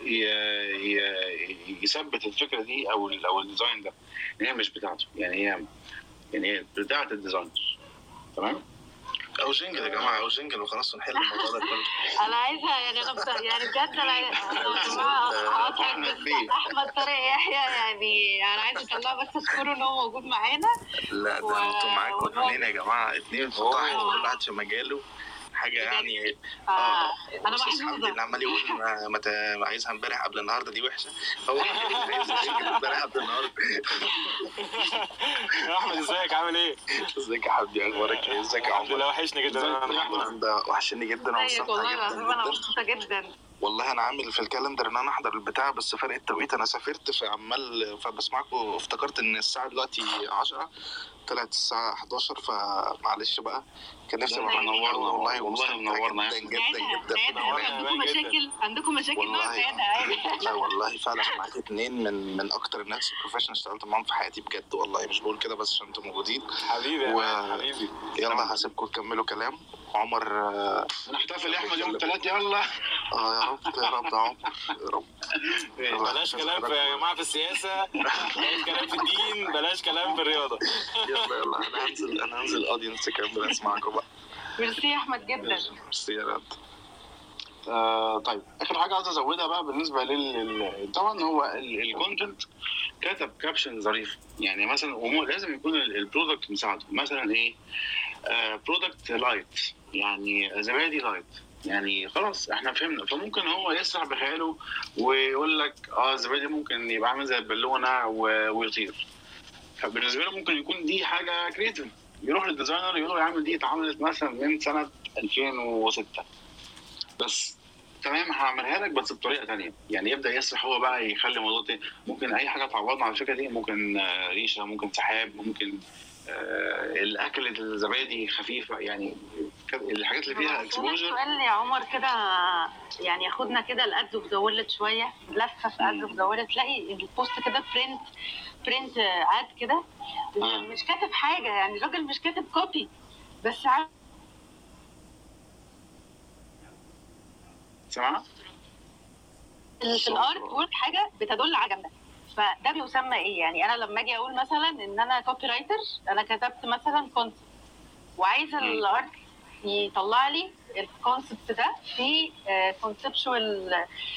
يثبت الفكره دي او او الديزاين ده، ان هي مش بتاعته، يعني هي يعني هي بتاعه الديزاينر. تمام، او جنجل يا جماعه، او جنجل وخلاص ونحل الموضوع ده كله. انا عايزها يعني انا بت... يعني بجد انا يا جماعه هقطعك بس احمد طارق يحيى، يعني انا عايزه اطلعه بس اشكره ان هو موجود معانا. لا و- ده انتوا معاكم و- اتنين يا جماعه، اتنين فتاح أوه. كل واحد في مجاله حاجه يعني. آه. انا أستاذ حمدي محظوظه. اللي عمال يقول ما ما ت- عايزها امبارح قبل النهارده دي وحشه، هو اللي عايزها امبارح قبل النهارده. يا احمد ازيك عامل ايه؟ ازيك يا حبيبي، اخبارك ايه؟ ازيك يا الحمد عمر؟ لله وحشني جدا. انا ده وحشني جدا ازيك والله ومستمتع العظيم انا جدا مبسوطه جدا. والله. انا عامل في الكالندر ان انا احضر البتاع، بس فرق التوقيت انا سافرت فعمال فبسمعكم، افتكرت ان الساعه دلوقتي عشرة طلعت الساعه حداشر، فمعلش بقى كان نفسي ابقى منورنا والله والله منورنا جدا جدا ساعتها جدا ساعتها عندكم مشاكل عندكم مشاكل والله. بقى ساعتها عادي. لا والله فعلا معاك اتنين من من اكتر الناس البروفيشنال اشتغلت معاهم في حياتي بجد والله، مش بقول كده بس عشان انتوا موجودين. حبيبي يا و... مان، حبيبي. يلا هسيبكم تكملوا كلام. عمر آه، نحتفل يا احمد يوم الثلاث يلا. اه يا رب يا رب يا عمر يا رب. بلاش كلام في يا جماعه في السياسه، بلاش كلام في الدين، بلاش كلام في الرياضه. يلا يلا انا هنزل انا هنزل اودينس كامل اسمعكم بقى. ميرسي يا احمد جدا. ميرسي يا رب. آه طيب اخر حاجه عايز ازودها بقى بالنسبه لل طبعا هو الكونتنت كتب كابشن ظريف يعني مثلا، ولازم يكون البرودكت مساعده. مثلا ايه؟ برودكت لايت يعني زبادي لايت، يعني خلاص احنا فهمنا. فممكن هو يسرح بخياله ويقول لك اه الزبادي ممكن يبقى عامل زي البالونه ويطير. فبالنسبه له ممكن يكون دي حاجه كريتيف، يروح للديزاينر يقول له يا عم دي اتعملت مثلا من سنه ألفين وستة بس تمام هعملها لك بس بطريقه ثانيه. يعني يبدا يسرح هو بقى يخلي الموضوع تاني. ممكن اي حاجه تعوضنا على الفكره دي، ممكن ريشه، ممكن سحاب، ممكن آه الاكل الزبادي خفيفه، يعني الحاجات اللي فيها اكسبوجر. سؤال يا عمر كده يعني ياخدنا كده الادز اوف ذا وورلد شويه، لفه في ادز اوف ذا وورلد، تلاقي البوست كده برنت برنت اد كده مش كاتب حاجه، يعني الراجل مش كاتب كوبي بس عارف سمع في الارت وورك حاجه بتدل على جمال. فده بيسمى ايه؟ يعني انا لما اجي اقول مثلا ان انا كوبي رايتر، انا كتبت مثلا كونسبت وعايزه الارت يطلع لي الكونسبت ده في كونسبشوال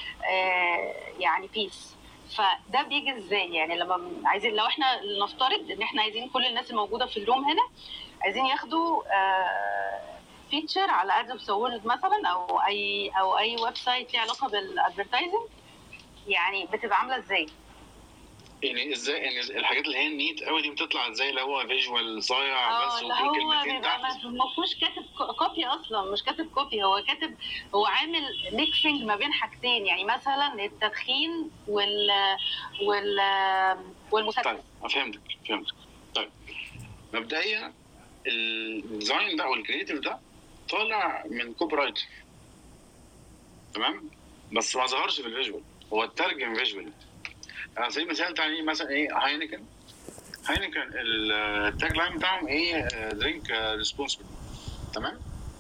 يعني بيس. فده بيجي ازاي؟ يعني لما عايزين، لو احنا نفترض ان احنا عايزين كل الناس الموجوده في الروم هنا عايزين ياخدوا فيتشر على ادز اوف ذا وورلد مثلا، او اي او اي ويب سايت ليه علاقه بالادفرتايزنج، يعني بتبقى عامله ازاي؟ يعني ازاي يعني الحاجات اللي هي النيت قوي دي بتطلع ازاي؟ اللي هو فيجوال صايع بس وفي كلمتين تحت. ما فيهوش كاتب كوبي اصلا، مش كاتب كوبي، هو كاتب هو عامل ميكسنج ما بين حاجتين، يعني مثلا التدخين وال وال والمسدس. طيب فهمتك فهمتك طيب مبدئيا الديزاين ده او الكريتيف ده طالع من كوبي رايتر تمام، بس ما ظهرش في الفيجوال، هو اترجم فيجوال. على سبيل المثال تاني مثلا ايه هاينكن هاينكن التاج لاين بتاعهم ايه؟ درينك ريسبونسبل تمام.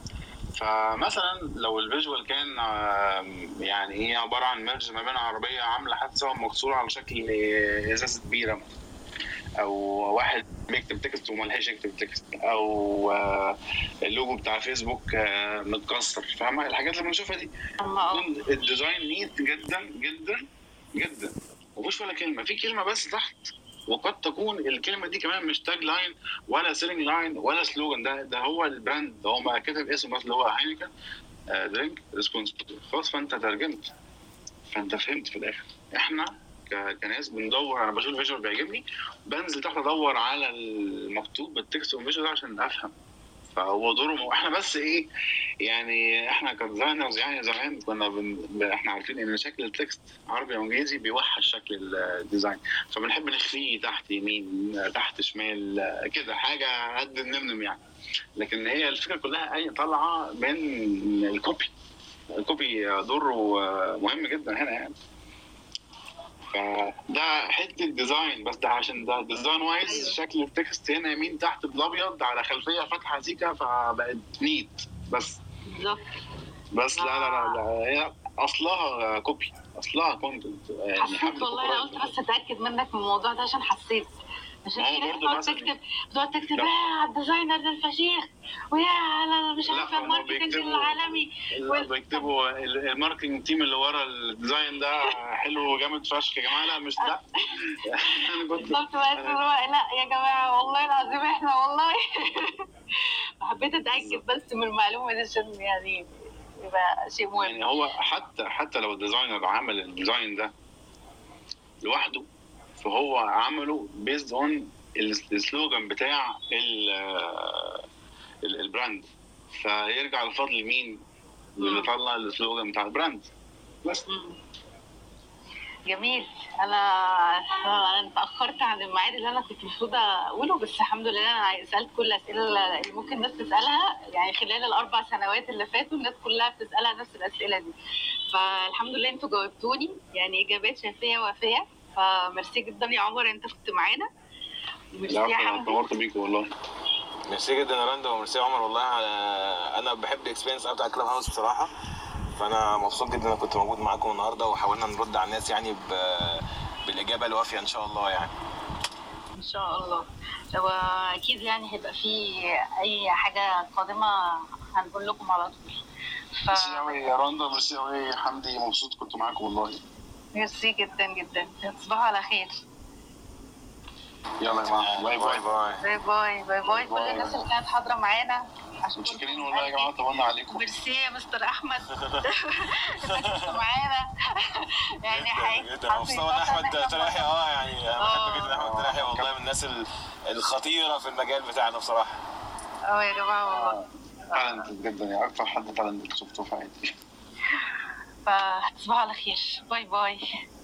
فمثلا لو الفيجوال كان يعني ايه عباره عن ميرج ما بين عربيه عامله حادثه ومكسوره على شكل ازازه بيره، او واحد بيكتب تكست وملحقش يكتب تكست، او اللوجو بتاع فيسبوك متكسر، فاهمه الحاجات اللي بنشوفها دي. الديزاين نيت جدا جدا جدا، مفيش ولا كلمه، في كلمه بس تحت، وقد تكون الكلمه دي كمان مش تاج لاين ولا سيلينج لاين ولا سلوجان، ده ده هو البراند، ده هو ما كتب اسمه بس اللي هو هاينكن درينك ريسبونسبل خلاص. فانت ترجمت، فانت فهمت في الاخر. احنا كناس بندور، انا بشوف الفيجوال بيعجبني بنزل تحت ادور على المكتوب بالتكست والفيجوال ده عشان افهم. فهو دوره احنا بس ايه يعني احنا كديزاينرز يعني زمان كنا بن... احنا عارفين ان شكل التكست عربي او انجليزي بيوحش شكل الديزاين، فبنحب نخفيه تحت يمين تحت شمال كده حاجه قد النمنم يعني. لكن هي الفكره كلها اي طالعه من الكوبي. الكوبي دوره مهم جدا هنا يعني. فده حته ديزاين بس، ده عشان ده ديزاين وايز. أيوة. شكل التكست هنا يمين تحت بالابيض على خلفيه فاتحه سيكا فبقت نيت بس بالظبط. بس لا لا لا, لا. هي اصلها كوبي، اصلها كونتنت يعني. حسيت والله انا قلت بس اتاكد منك من الموضوع ده عشان حسيت عشان في ناس بتقعد تكتب بتقعد تكتب يا على الديزاينر ده الفشيخ ويا على مش عارفه الماركتنج العالمي. بيكتبوا الماركتنج تيم اللي ورا الديزاين ده حلو وجامد فشخ يا جماعه. لا مش لا انا كنت بالظبط. لا يا جماعه والله العظيم احنا والله حبيت اتاكد بس من المعلومه دي عشان يعني يبقى شيء مهم. يعني هو حتى حتى لو الديزاينر عمل الديزاين ده لوحده فهو عمله بيزد اون السلوجان بتاع البراند، فيرجع الفضل لمين؟ اللي طلع السلوجان بتاع البراند بس. جميل. انا انا اتاخرت عن الميعاد اللي انا كنت المفروض اقوله، بس الحمد لله انا سالت كل الاسئله اللي ممكن الناس تسالها يعني خلال الاربع سنوات اللي فاتوا الناس كلها بتسالها نفس الاسئله دي، فالحمد لله انتوا جاوبتوني يعني اجابات شافيه وافيه. فميرسي جدا يا عمر انت كنت معانا. ميرسي يا حمدي. انا بيك والله. ميرسي جدا يا رندا وميرسي يا عمر. والله انا بحب الاكسبيرينس بتاع كلاب هاوس بصراحه، فانا مبسوط جدا ان كنت موجود معاكم النهارده وحاولنا نرد على الناس يعني بالاجابه الوافيه ان شاء الله يعني. ان شاء الله. واكيد يعني هيبقى في اي حاجه قادمه هنقول لكم على طول. ف ميرسي قوي يا رندا، ميرسي قوي حمدي، مبسوط كنت معاكم والله. ميرسي جدا جدا، تصبحوا على خير. يلا يا جماعه، باي باي. باي باي باي باي كل باي. الناس اللي كانت حاضره معانا. متشكرين والله يا جماعه، طولنا عليكم. ميرسي يا مستر احمد انك كنت معانا. يعني حقيقي جدا مبسوط ان احمد تلاحي. اه يعني انا بحب جدا احمد تلاحي والله، من الناس الخطيره في المجال بتاعنا بصراحه. اه يا جماعه والله تالنت جدا، يعني اكتر حد تالنت شفته في حياتي. فتصبحوا على خير. باي باي.